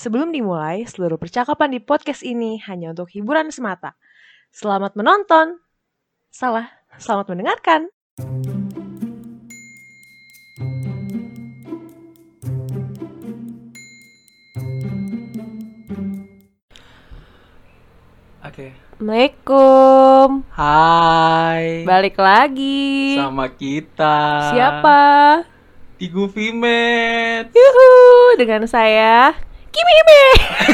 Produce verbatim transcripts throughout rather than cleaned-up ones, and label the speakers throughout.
Speaker 1: Sebelum dimulai, seluruh percakapan di podcast ini hanya untuk hiburan semata. Selamat menonton. Salah, selamat mendengarkan.
Speaker 2: Oke.
Speaker 1: Assalamualaikum.
Speaker 2: Hai.
Speaker 1: Balik lagi.
Speaker 2: Sama kita.
Speaker 1: Siapa?
Speaker 2: Tigu Vimet.
Speaker 1: Yuhu, dengan saya Kimi Hime.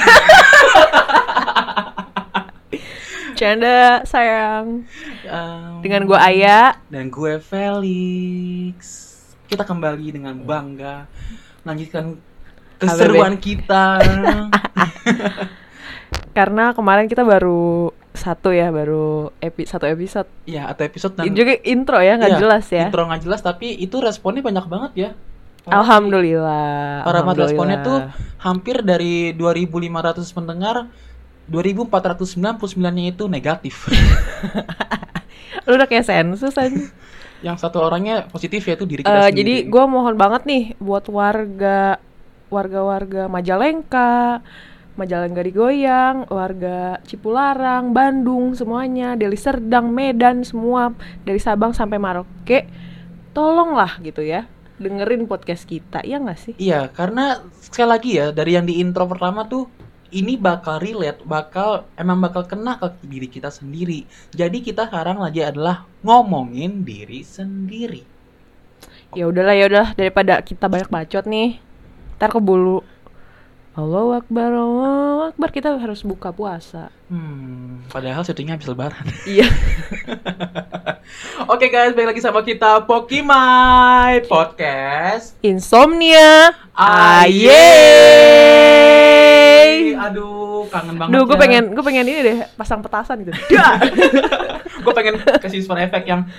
Speaker 1: Canda sayang.
Speaker 2: Um,
Speaker 1: Dengan gue Aya
Speaker 2: dan gue Felix. Kita kembali dengan bangga melanjutkan keseruan kita.
Speaker 1: Karena kemarin kita baru satu ya, baru epi, satu episode.
Speaker 2: Iya, atau episode dan
Speaker 1: juga intro ya, nggak
Speaker 2: iya,
Speaker 1: jelas ya.
Speaker 2: Intro nggak jelas, tapi itu responnya banyak banget ya.
Speaker 1: Oh, Alhamdulillah.
Speaker 2: Para
Speaker 1: Alhamdulillah.
Speaker 2: responnya tuh hampir dari dua ribu lima ratus pendengar, dua ribu empat ratus sembilan puluh sembilan-nya itu negatif.
Speaker 1: Lu udah kayak sensus aja.
Speaker 2: Yang satu orangnya positif yaitu diri kita
Speaker 1: Uh,
Speaker 2: sendiri.
Speaker 1: jadi gue mohon banget nih buat warga warga-warga Majalengka, Majalengka digoyang, warga Cipularang, Bandung semuanya, Deli Serdang, Medan semua, dari Sabang sampai Merauke, tolonglah gitu ya, dengerin podcast kita, ya nggak sih?
Speaker 2: Iya, karena sekali lagi ya, dari yang di intro pertama tuh, ini bakal relate, bakal emang bakal kena ke diri kita sendiri. Jadi kita sekarang lagi adalah ngomongin diri sendiri.
Speaker 1: Ya udahlah, ya udah daripada kita banyak bacot nih, ntar keburu Allahu Akbar, Allahu Akbar, kita harus buka puasa.
Speaker 2: Hmm, padahal syutingnya habis lebaran.
Speaker 1: Iya.
Speaker 2: Oke guys, balik lagi sama kita Pokimai Podcast
Speaker 1: Insomnia.
Speaker 2: Ayeay. Aduh, kangen banget.
Speaker 1: Duh, gue
Speaker 2: ya.
Speaker 1: pengen, gue pengen ini deh, pasang petasan gitu.
Speaker 2: Gue pengen kasih sound effect yang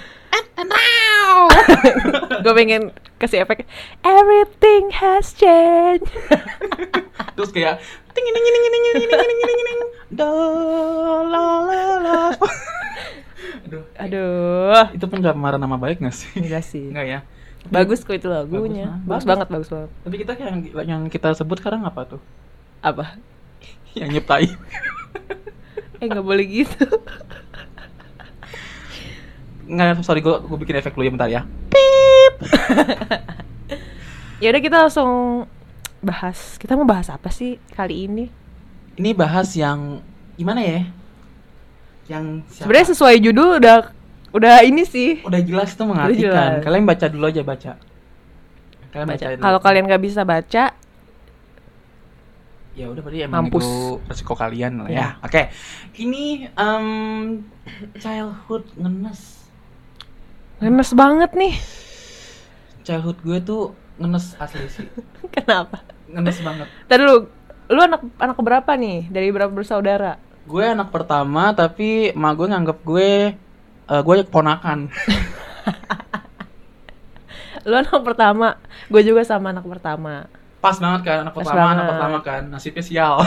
Speaker 1: Gue pengen kasih efek everything has changed.
Speaker 2: terus kayak ting ting ting ting ting ting ting ting ting do la la la. Aduh,
Speaker 1: Aduh,
Speaker 2: itu pencemaran nama baik nggak sih?
Speaker 1: enggak sih.
Speaker 2: Enggak ya.
Speaker 1: Bagus kok itu lagunya.
Speaker 2: Bagus,
Speaker 1: Bagus,
Speaker 2: bagus.
Speaker 1: banget, bagus banget.
Speaker 2: Tapi kita yang yang kita sebut sekarang apa tuh?
Speaker 1: Apa?
Speaker 2: Yang nyiptain.
Speaker 1: Eh, nggak boleh gitu.
Speaker 2: Nggak, sorry, gue gue bikin efek dulu ya, bentar ya.
Speaker 1: Ya udah, kita langsung bahas. Kita mau bahas apa sih kali ini?
Speaker 2: Ini bahas yang gimana ya? Yang siapa?
Speaker 1: Sebenarnya sesuai judul udah udah ini sih.
Speaker 2: Udah jelas tuh
Speaker 1: Udah
Speaker 2: mengartikan.
Speaker 1: jelas.
Speaker 2: Kalian baca dulu aja, baca. Kalian
Speaker 1: Baca.
Speaker 2: baca dulu.
Speaker 1: Kalau kalian nggak bisa baca,
Speaker 2: Ya udah, berarti emang
Speaker 1: mampus.
Speaker 2: itu resiko kalian lah ya.
Speaker 1: Ya.
Speaker 2: Oke. Ini um, childhood ngenes.
Speaker 1: ngenes banget nih.
Speaker 2: Childhood gue tuh ngenes asli sih.
Speaker 1: Kenapa?
Speaker 2: Ngenes banget.
Speaker 1: Tadi lu, lu anak anak berapa nih? Dari berapa bersaudara?
Speaker 2: Gue anak pertama, tapi emak gue nganggep gue uh, gue keponakan.
Speaker 1: Lu anak pertama, gue juga sama anak pertama.
Speaker 2: Pas banget kan, anak
Speaker 1: Pas
Speaker 2: pertama, anak
Speaker 1: banget.
Speaker 2: pertama kan. Nasibnya sial.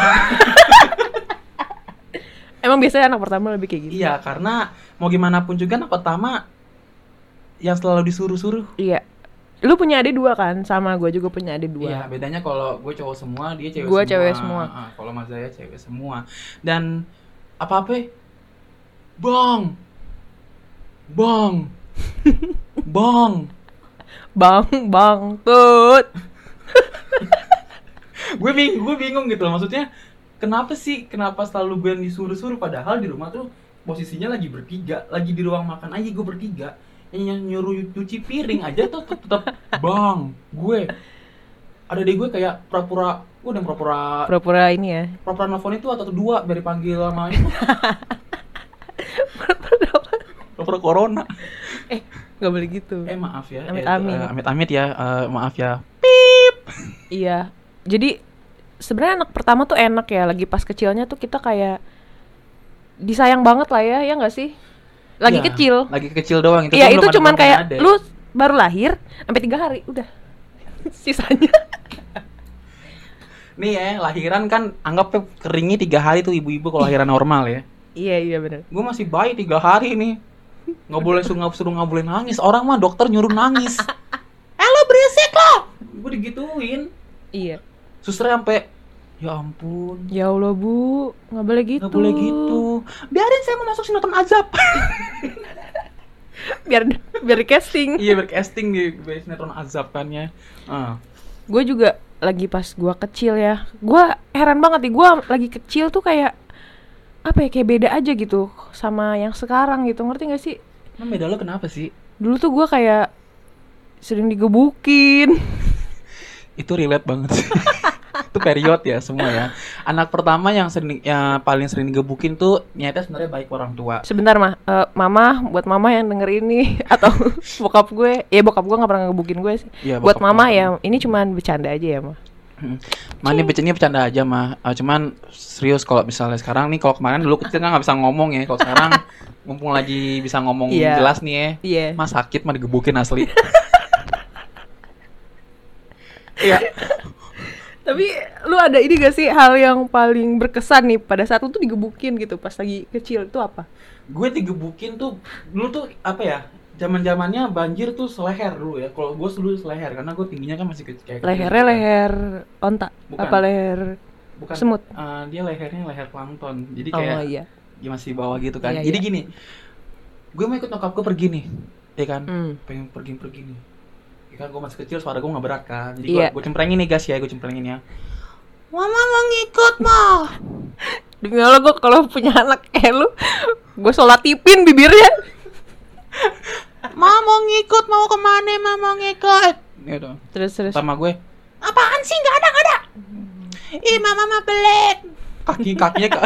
Speaker 1: Emang biasanya anak pertama lebih kayak gitu?
Speaker 2: Iya, karena mau gimana pun juga anak pertama yang selalu disuruh-suruh.
Speaker 1: Iya. Lu punya adik dua kan? Sama gue juga punya adik
Speaker 2: Iya,
Speaker 1: dua.
Speaker 2: bedanya kalau gue cowok semua, dia cewek
Speaker 1: Gue
Speaker 2: semua.
Speaker 1: cewek semua.
Speaker 2: Ah, kalau Mas Zaya cewek semua. Dan apa-apa? Bang. Bang. Bang.
Speaker 1: Bang, bang, tut.
Speaker 2: gue bingung, gue bingung gitu loh. Maksudnya kenapa sih? Kenapa selalu gue yang disuruh-suruh padahal di rumah tuh posisinya lagi bertiga, lagi di ruang makan aja gue bertiga. Yang nyuruh cuci piring aja tuh tetap bang, gue. Ada deh gue kayak pura-pura, gue udah pura-pura
Speaker 1: Pura-pura ini ya.
Speaker 2: pura-pura nelfon itu atau dua biar dipanggil sama itu. Pura-pura corona.
Speaker 1: Eh, nggak boleh gitu.
Speaker 2: Eh maaf ya.
Speaker 1: Amit-amit.
Speaker 2: Eh, amit-amit ya. Eh, maaf ya.
Speaker 1: Iya. Jadi sebenarnya anak pertama tuh enak ya. Lagi pas kecilnya tuh kita kayak disayang banget lah ya, ya nggak sih? Lagi
Speaker 2: Iya,
Speaker 1: kecil.
Speaker 2: Lagi kecil doang itu.
Speaker 1: Iya,
Speaker 2: tuh
Speaker 1: itu
Speaker 2: belum ada-
Speaker 1: cuman
Speaker 2: belum
Speaker 1: kayak
Speaker 2: ada.
Speaker 1: lu baru lahir sampai tiga hari udah. Sisanya.
Speaker 2: Nih ya, lahiran kan anggap keringnya tiga hari tuh ibu-ibu kalau lahiran normal ya.
Speaker 1: Iya, iya benar.
Speaker 2: Gue masih bayi tiga hari nih. Nggak boleh suruh suruh nggak boleh nangis. Orang mah dokter nyuruh nangis. Eh lo berisik lo. Gue digituin.
Speaker 1: Iya.
Speaker 2: Suster sampai Ya ampun.
Speaker 1: Ya Allah Bu, nggak boleh gitu.
Speaker 2: Nggak boleh gitu. Biarin saya mau masuk sinetron azab.
Speaker 1: biar biar di casting.
Speaker 2: Iya, bercasting di sinetron azab kan ya. Uh.
Speaker 1: Gue juga lagi pas gue kecil ya, gue heran banget nih, gue lagi kecil tuh kayak apa ya, kayak beda aja gitu sama yang sekarang gitu, ngerti gak sih?
Speaker 2: Emang beda lo kenapa sih?
Speaker 1: Dulu tuh gue kayak sering digebukin.
Speaker 2: Itu relate banget sih. Itu period ya semua ya. Anak pertama yang sering, yang paling sering digebukin tuh nyata sebenarnya baik orang tua.
Speaker 1: Sebentar mah, uh, mama, buat mama yang denger ini atau bokap gue, ya bokap gue nggak pernah ngegebukin gue sih.
Speaker 2: Ya,
Speaker 1: buat mama
Speaker 2: kamu.
Speaker 1: ya, ini cuman bercanda aja ya mah.
Speaker 2: Mah ini bercanda bercanda aja mah. Uh, cuman serius kalau misalnya sekarang nih, kalau kemarin dulu kecil kan nggak bisa ngomong ya. Kalau sekarang mumpung lagi bisa ngomong
Speaker 1: yeah.
Speaker 2: jelas nih ya.
Speaker 1: Iya.
Speaker 2: Mah sakit mah digebukin asli. Iya.
Speaker 1: Tapi lu ada ini gak sih hal yang paling berkesan nih pada saat lu tuh digebukin gitu pas lagi kecil, itu apa?
Speaker 2: Gue digebukin tuh dulu tuh apa ya? Zaman-zamannya banjir tuh seleher dulu ya. Kalau gue dulu seleher karena gue tingginya kan masih kecil kayak
Speaker 1: Lehernya
Speaker 2: kecil,
Speaker 1: leher onta,
Speaker 2: Bukan.
Speaker 1: apa leher
Speaker 2: bukan
Speaker 1: semut?
Speaker 2: Uh, dia lehernya leher plankton. Jadi
Speaker 1: Oh
Speaker 2: kayak
Speaker 1: iya.
Speaker 2: dia masih bawah gitu kan.
Speaker 1: Iya,
Speaker 2: Jadi
Speaker 1: iya.
Speaker 2: gini. Gue mau ikut nyokap gue pergi nih. Ya kan?
Speaker 1: Hmm.
Speaker 2: Pengen pergi-pergi nih. Ya kan gue masih kecil, suara gue gak berat kan. Jadi
Speaker 1: Iya.
Speaker 2: gue gue cemprengin nih guys ya, gue cemprengin ya. Mama mau ngikut mah.
Speaker 1: Demi Allah gue kalau punya anak kayak lu, gue solatipin bibirnya.
Speaker 2: Ma mau ngikut, mau kemana? Ma mau ngikut. Gitu.
Speaker 1: Terus terus.
Speaker 2: Sama gue, apaan sih? Gak ada, gak ada. Ih, mama mah pelit. Kaki kakinya ka-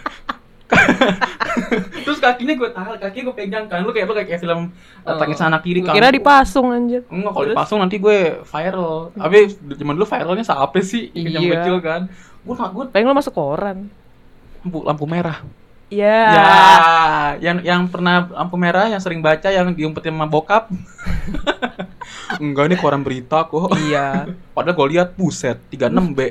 Speaker 2: Terus kakinya gue tahan, kakinya gue pegang kan. Lu kayak lu kayak film
Speaker 1: Oh.
Speaker 2: tangis anak kiri
Speaker 1: Gua
Speaker 2: kan.
Speaker 1: kira dipasung anjir.
Speaker 2: Enggak, kalau
Speaker 1: Terus?
Speaker 2: dipasung nanti gue viral. Tapi zaman dulu viralnya siapa sih? Yang
Speaker 1: Iya.
Speaker 2: kecil kan. Gue gue
Speaker 1: Pengen lu masuk koran.
Speaker 2: lampu, lampu merah.
Speaker 1: Iya.
Speaker 2: Ya, yang yang pernah lampu merah yang sering baca yang diumpetin sama bokap. Enggak, ini koran berita kok.
Speaker 1: Iya.
Speaker 2: Padahal gue lihat buset tiga puluh enam B.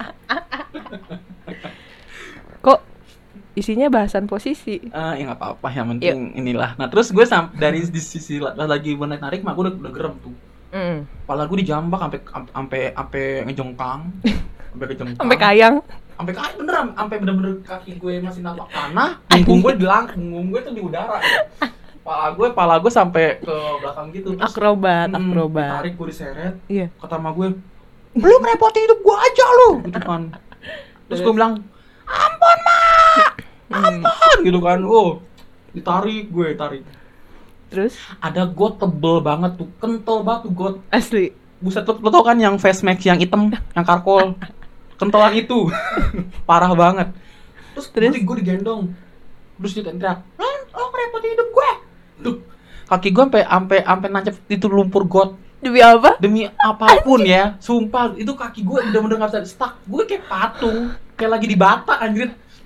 Speaker 1: Kok isinya bahasan posisi?
Speaker 2: Ah, ya nggak apa-apa, yang penting inilah. Nah, terus gue sam- dari di sisi la- lagi bener narik mah gue udah, udah gerem tuh.
Speaker 1: Mm.
Speaker 2: Kepala gue dijambak sampai sampai sampai ngejongkang. Sampai kejongkang.
Speaker 1: Sampai kayang.
Speaker 2: Sampai kaki beneran, sampai bener-bener kaki gue masih napak tanah, punggung gue di lang, punggung gue tuh di udara. Pala gue, pala gue sampai ke belakang gitu. Terus,
Speaker 1: Akrobat,
Speaker 2: hmm,
Speaker 1: akrobat.
Speaker 2: ditarik, gue diseret.
Speaker 1: Iya.
Speaker 2: Kata sama gue, lu ngerepotin hidup gue aja lu, gitu kan. Terus gue bilang, ampun mak, ampun, gitu kan. Oh, ditarik gue, tarik.
Speaker 1: Terus
Speaker 2: Ada got tebel banget tuh, kental banget tuh got.
Speaker 1: asli.
Speaker 2: Buset, lo, lo tau kan yang face mask yang hitam, yang karkol. Kentelan itu. Parah banget. Terus,
Speaker 1: Terus?
Speaker 2: gue, gue digendong. Terus dia teriak, "Lo lo ngerepotin hidup gue." Tuh, kaki gue sampai sampai sampai nancep itu lumpur got.
Speaker 1: Demi apa?
Speaker 2: Demi apapun ya, sumpah itu kaki gue bener-bener gak bisa stuck. Gue kayak patung, kayak lagi di bata anjir.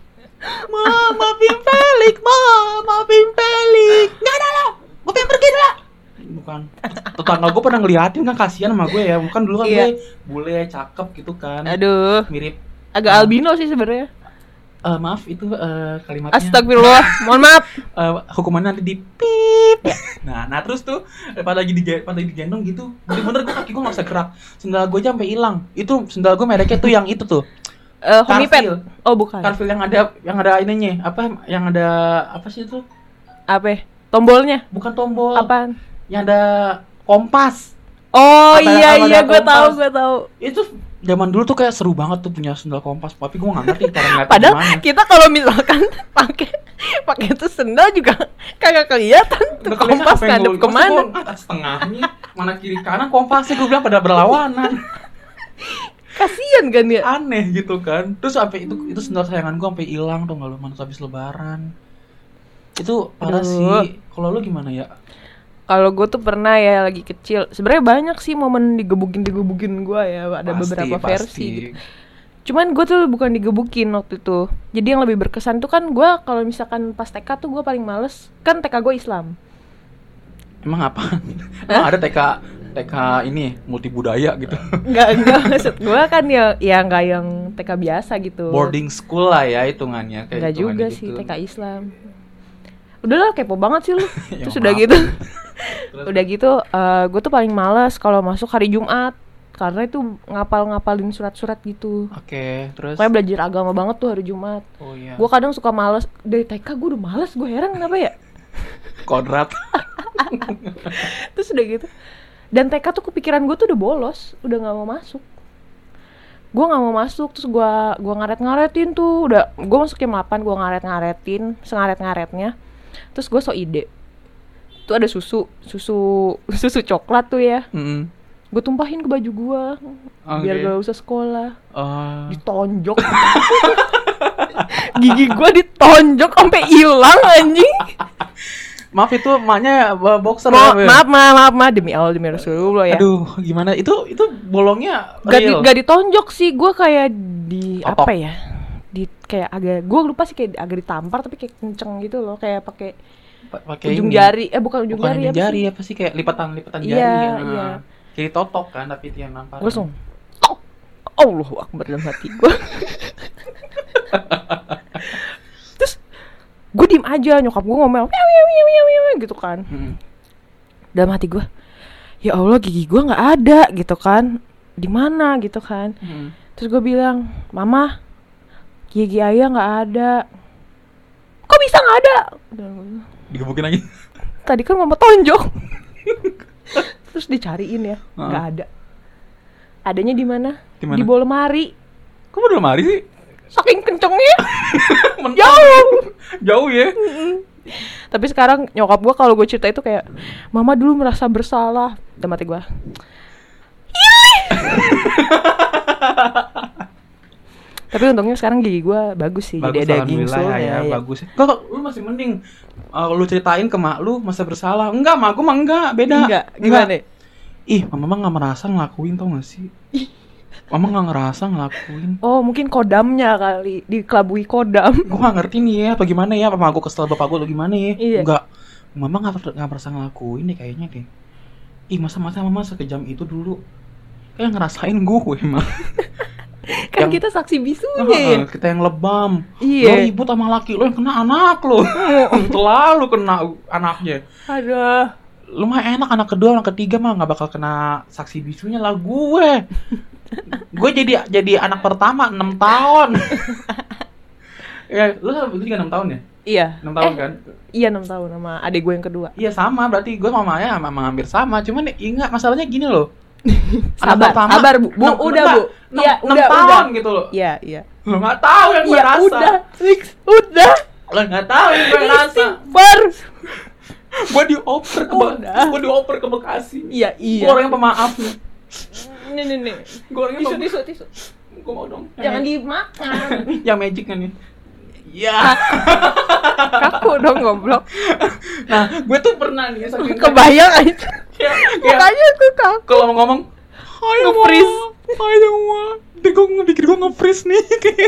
Speaker 2: Ma, maafin Pelik, ma, maafin Pelik. Nggak ada lo, gue pengen pergi dulu. Bukan, tetangga gue pernah ngeliatin kan, kasihan sama gue ya. Bukan dulu kan
Speaker 1: Iya.
Speaker 2: gue bule, cakep gitu kan.
Speaker 1: Aduh,
Speaker 2: Mirip,
Speaker 1: agak albino sih sebenarnya.
Speaker 2: eh, maaf itu eh, kalimatnya.
Speaker 1: Astagfirullah, mohon maaf.
Speaker 2: Eh, hukumannya nanti di pip. Nah, nah terus tuh pada lagi di pada lagi digendong gitu, bener-bener gue kaki gue nggak bisa gerak. Sendal gue aja sampai hilang. Itu sendal gue mereknya tuh yang itu tuh.
Speaker 1: Eh, Homipet.
Speaker 2: Carfil.
Speaker 1: Oh, bukan.
Speaker 2: Carfil yang ada yang ada ininya. Apa yang ada apa sih itu?
Speaker 1: Apa? Tombolnya?
Speaker 2: Bukan tombol.
Speaker 1: Apaan?
Speaker 2: Yang ada kompas.
Speaker 1: Oh
Speaker 2: Apa-
Speaker 1: iya
Speaker 2: apa
Speaker 1: iya,
Speaker 2: ada
Speaker 1: gue tahu
Speaker 2: kompas?
Speaker 1: gue tahu.
Speaker 2: Itu zaman dulu tuh kayak seru banget tuh punya sendal kompas. Tapi gue nggak ngerti cara ngeliatnya
Speaker 1: Padahal
Speaker 2: gimana.
Speaker 1: kita kalau misalkan pakai pakai itu sendal juga kagak kelihatan tuh
Speaker 2: Nggak kelihatan
Speaker 1: kompas
Speaker 2: apa yang
Speaker 1: ngadep
Speaker 2: gua-
Speaker 1: kemana.
Speaker 2: maksud gua atas tengahnya, mana kiri kanan kompasnya gue bilang pada berlawanan.
Speaker 1: Kasian kan ya.
Speaker 2: Aneh gitu kan. Terus sampai itu itu sendal sayangan gue sampai hilang tuh nggak lu mana habis lebaran. Itu parah
Speaker 1: Aduh.
Speaker 2: sih. Kalau lu gimana ya?
Speaker 1: Kalau gue tuh pernah ya lagi kecil. Sebenarnya banyak sih momen digebukin digebukin gue ya. Ada
Speaker 2: Pasti,
Speaker 1: beberapa
Speaker 2: pasti.
Speaker 1: versi. Cuman gue tuh bukan digebukin waktu itu. Jadi yang lebih berkesan tuh kan gue kalau misalkan pas T K tuh gue paling males. Kan T K gue Islam.
Speaker 2: Emang apa? Emang ada T K T K ini multi budaya gitu.
Speaker 1: Enggak enggak maksud gue kan ya ya nggak yang T K biasa gitu.
Speaker 2: Boarding school lah ya hitungannya. Kayak
Speaker 1: Enggak juga
Speaker 2: hitungannya
Speaker 1: sih
Speaker 2: gitu.
Speaker 1: T K Islam. Udahlah kepo banget sih lu.
Speaker 2: Ya,
Speaker 1: Terus udah
Speaker 2: maaf.
Speaker 1: gitu.
Speaker 2: Terus?
Speaker 1: Udah gitu gue tuh paling males kalau masuk hari Jumat. karena itu ngapal-ngapalin surat-surat gitu.
Speaker 2: Oke, terus?
Speaker 1: Kayak belajar agama banget tuh hari Jumat.
Speaker 2: Oh iya.
Speaker 1: Gue kadang suka males dari T K, gue udah males, gue heran kenapa ya.
Speaker 2: Kodrat.
Speaker 1: Terus udah gitu. Dan T K tuh kepikiran gue tuh udah bolos, udah nggak mau masuk. Gue nggak mau masuk, terus gue gue ngaret-ngaretin tuh, udah gue masuk jam delapan, gue ngaret-ngaretin, sengaret-ngaretnya. Terus gue so ide. Tuh ada susu, susu susu coklat tuh ya.
Speaker 2: Mm.
Speaker 1: Gue tumpahin ke baju gue,
Speaker 2: Okay.
Speaker 1: biar gak usah sekolah.
Speaker 2: Uh.
Speaker 1: Ditonjok. Gigi gue ditonjok sampai hilang anjing.
Speaker 2: Maaf itu emaknya uh, boxer.
Speaker 1: Mo-
Speaker 2: ya?
Speaker 1: maaf, maaf, maaf, maaf demi Allah demi Rasulullah ya.
Speaker 2: Aduh, gimana? Itu itu bolongnya
Speaker 1: Gak, di,
Speaker 2: real.
Speaker 1: gak ditonjok sih, gue kayak di
Speaker 2: Totok.
Speaker 1: apa ya? Di kayak agak, gue lupa sih kayak agak ditampar tapi kayak kenceng gitu loh, kayak pakai
Speaker 2: Pa- pakai
Speaker 1: ujung
Speaker 2: ini.
Speaker 1: jari, eh bukan ujung
Speaker 2: Bukan
Speaker 1: jari
Speaker 2: ujung
Speaker 1: apa
Speaker 2: jari
Speaker 1: sih?
Speaker 2: apa sih kayak lipatan-lipatan
Speaker 1: Iya,
Speaker 2: jari. ya.
Speaker 1: iya.
Speaker 2: Kayak totok kan tapi itu yang nampar.
Speaker 1: Gue langsung, oh, Allahu Akbar dalam hati gue. Terus gue diem aja, nyokap gue ngomel, "Miau, miau, miau, miau, miau," gitu kan.
Speaker 2: Hmm.
Speaker 1: Dalam hati gue, ya Allah gigi gue nggak ada gitu kan, di mana gitu kan.
Speaker 2: Hmm.
Speaker 1: Terus gue bilang, Mama, gigi ayah nggak ada. Kok bisa nggak ada? Dan gua bilang,
Speaker 2: Digebukin lagi.
Speaker 1: tadi kan mama tonjok. Terus dicariin ya,
Speaker 2: Uh-huh.
Speaker 1: nggak ada. Adanya di mana?
Speaker 2: Di mana?
Speaker 1: Di bawah lemari.
Speaker 2: Kok udah lemari sih?
Speaker 1: Saking kencengnya.
Speaker 2: Mentang.
Speaker 1: Jauh.
Speaker 2: Jauh ya.
Speaker 1: Tapi sekarang nyokap gue kalau gue cerita itu kayak, Mama dulu merasa bersalah. Dalam hati gue, tapi untungnya sekarang gigi gue bagus sih.
Speaker 2: Bagus,
Speaker 1: Jadi ada
Speaker 2: alhamdulillah
Speaker 1: gingsul
Speaker 2: ya,
Speaker 1: ya,
Speaker 2: ya, bagus. Kok lu masih mending uh, lu ceritain ke mak lu masa bersalah. Enggak, mak gua mah enggak, beda.
Speaker 1: Enggak, gimana?
Speaker 2: Ih, mama mah enggak merasa ngelakuin tau gak sih? Mama enggak ngerasa ngelakuin.
Speaker 1: Oh mungkin kodamnya kali, dikelabui kodam.
Speaker 2: Gua gak ngerti nih ya, apa gimana ya, apa mak gua kesel bapak gua atau gimana ya.
Speaker 1: Iya.
Speaker 2: Enggak. Mama enggak enggak merasa ngelakuin deh kayaknya deh. Ih, masa-masa mama sekejam itu dulu. Kayak ngerasain gue emang.
Speaker 1: Kan
Speaker 2: Yang-
Speaker 1: kita saksi bisunya
Speaker 2: Uh,
Speaker 1: ya.
Speaker 2: kita yang lebam.
Speaker 1: Iya.
Speaker 2: Lo ribut sama laki lo yang kena anak lo. Selalu kena anaknya.
Speaker 1: Aduh.
Speaker 2: Lu mah enak anak kedua, anak ketiga mah nggak bakal kena saksi bisunya lah gue. Gue jadi jadi anak pertama enam tahun. Ya, lu juga enam tahun ya?
Speaker 1: Iya.
Speaker 2: enam tahun
Speaker 1: Eh,
Speaker 2: kan?
Speaker 1: Iya enam tahun sama adik gue yang kedua.
Speaker 2: Iya sama, berarti gue sama Maya sama hampir sama. Cuman ya, ingat masalahnya gini loh.
Speaker 1: Sabar, sabar Bu. Bu,
Speaker 2: enam-
Speaker 1: udah,
Speaker 2: enggak,
Speaker 1: Bu.
Speaker 2: enam-
Speaker 1: Iya,
Speaker 2: enam
Speaker 1: udah,
Speaker 2: tahun
Speaker 1: udah.
Speaker 2: gitu loh.
Speaker 1: Iya, iya.
Speaker 2: Lo nggak tahu yang gue
Speaker 1: Iya,
Speaker 2: rasa.
Speaker 1: udah. Fix, udah.
Speaker 2: Lo nggak tahu yang gue rasa.
Speaker 1: Istighfar.
Speaker 2: Gue dioper ke Be-
Speaker 1: Udah.
Speaker 2: gue dioper ke Bekasi.
Speaker 1: Iya, iya.
Speaker 2: Gue orang yang pemaaf nih.
Speaker 1: Nih, nih, nih.
Speaker 2: Gue orang yang
Speaker 1: Tisu,
Speaker 2: pemaaf.
Speaker 1: tisu, tisu.
Speaker 2: Gue mau dong.
Speaker 1: Jangan
Speaker 2: Yang-
Speaker 1: dimakan.
Speaker 2: yang magic kan nih. Ya.
Speaker 1: Kaku dong goblok.
Speaker 2: Nah, gue tuh pernah nih saking
Speaker 1: Kebayang aja.
Speaker 2: kayak, kayak
Speaker 1: Mukanya tuh kaku.
Speaker 2: kalau mau ngomong hai
Speaker 1: Nge-freeze.
Speaker 2: hai semua. Deh gue ngebikir gue nge-freeze nih.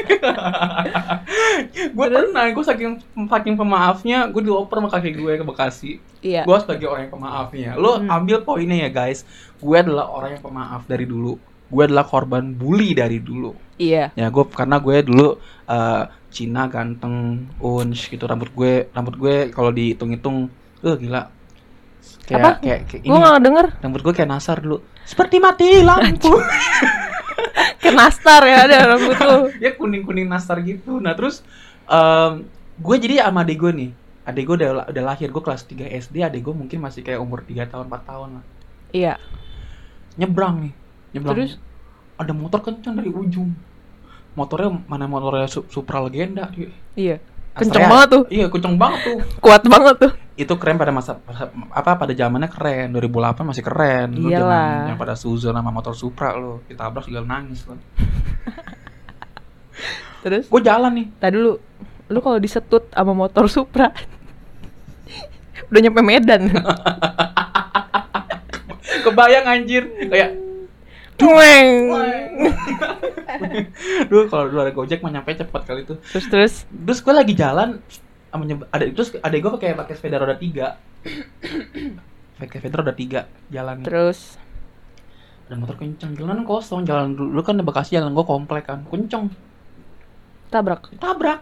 Speaker 2: Gue pernah, gue saking saking pemaafnya, gue dioper sama kakek gue ke Bekasi.
Speaker 1: Iya.
Speaker 2: Gue sebagai orang yang pemaafnya. Lo
Speaker 1: Hmm.
Speaker 2: ambil poinnya ya guys. Gue adalah orang yang pemaaf dari dulu. Gue adalah korban bully dari dulu.
Speaker 1: Iya.
Speaker 2: Ya gue karena gue dulu uh, Cina ganteng, unch gitu, rambut gue rambut gue kalau dihitung-hitung, eh gila. Kayak
Speaker 1: Apa?
Speaker 2: kayak, kayak
Speaker 1: Gue nggak denger.
Speaker 2: rambut gue kayak Nasar dulu. Seperti mati lampu.
Speaker 1: Kayak nastar ya ada rambut tuh.
Speaker 2: Ya kuning-kuning Nasar gitu. Nah, terus um, gue jadi sama adik gue nih. Adik gue udah udah lahir, gue kelas tiga S D, adik gue mungkin masih kayak umur tiga tahun, empat tahun lah.
Speaker 1: Iya.
Speaker 2: Nyebrang nih. Nyebrang.
Speaker 1: Terus?
Speaker 2: Ada motor kencang dari ujung. Motornya mana motornya Su- Supra Legenda, cuy.
Speaker 1: Iya. Kenceng
Speaker 2: Astrea.
Speaker 1: banget tuh.
Speaker 2: Iya, kenceng banget tuh.
Speaker 1: Kuat banget tuh.
Speaker 2: Itu keren pada masa apa pada zamannya keren. dua ribu delapan masih keren. Lu
Speaker 1: Iyalah.
Speaker 2: jangan yang pada Suzon sama motor Supra lu. Ditabrak juga nangis lu.
Speaker 1: Terus?
Speaker 2: Gue jalan nih.
Speaker 1: Tadi dulu, lu kalau disetut sama motor Supra udah nyampe Medan.
Speaker 2: Kebayang anjir. Kayak
Speaker 1: Tueng.
Speaker 2: dulu kalau dulu ada Gojek mah nyampe cepet kali itu.
Speaker 1: Terus terus.
Speaker 2: Terus gue lagi jalan sama nyeb- ada terus ada gue pakai pakai sepeda roda tiga. Pakai sepeda roda tiga jalan.
Speaker 1: Terus.
Speaker 2: Ada motor kenceng, jalanan kosong, jalan dulu kan di Bekasi jalan gue komplek kan, kenceng.
Speaker 1: Tabrak.
Speaker 2: Tabrak.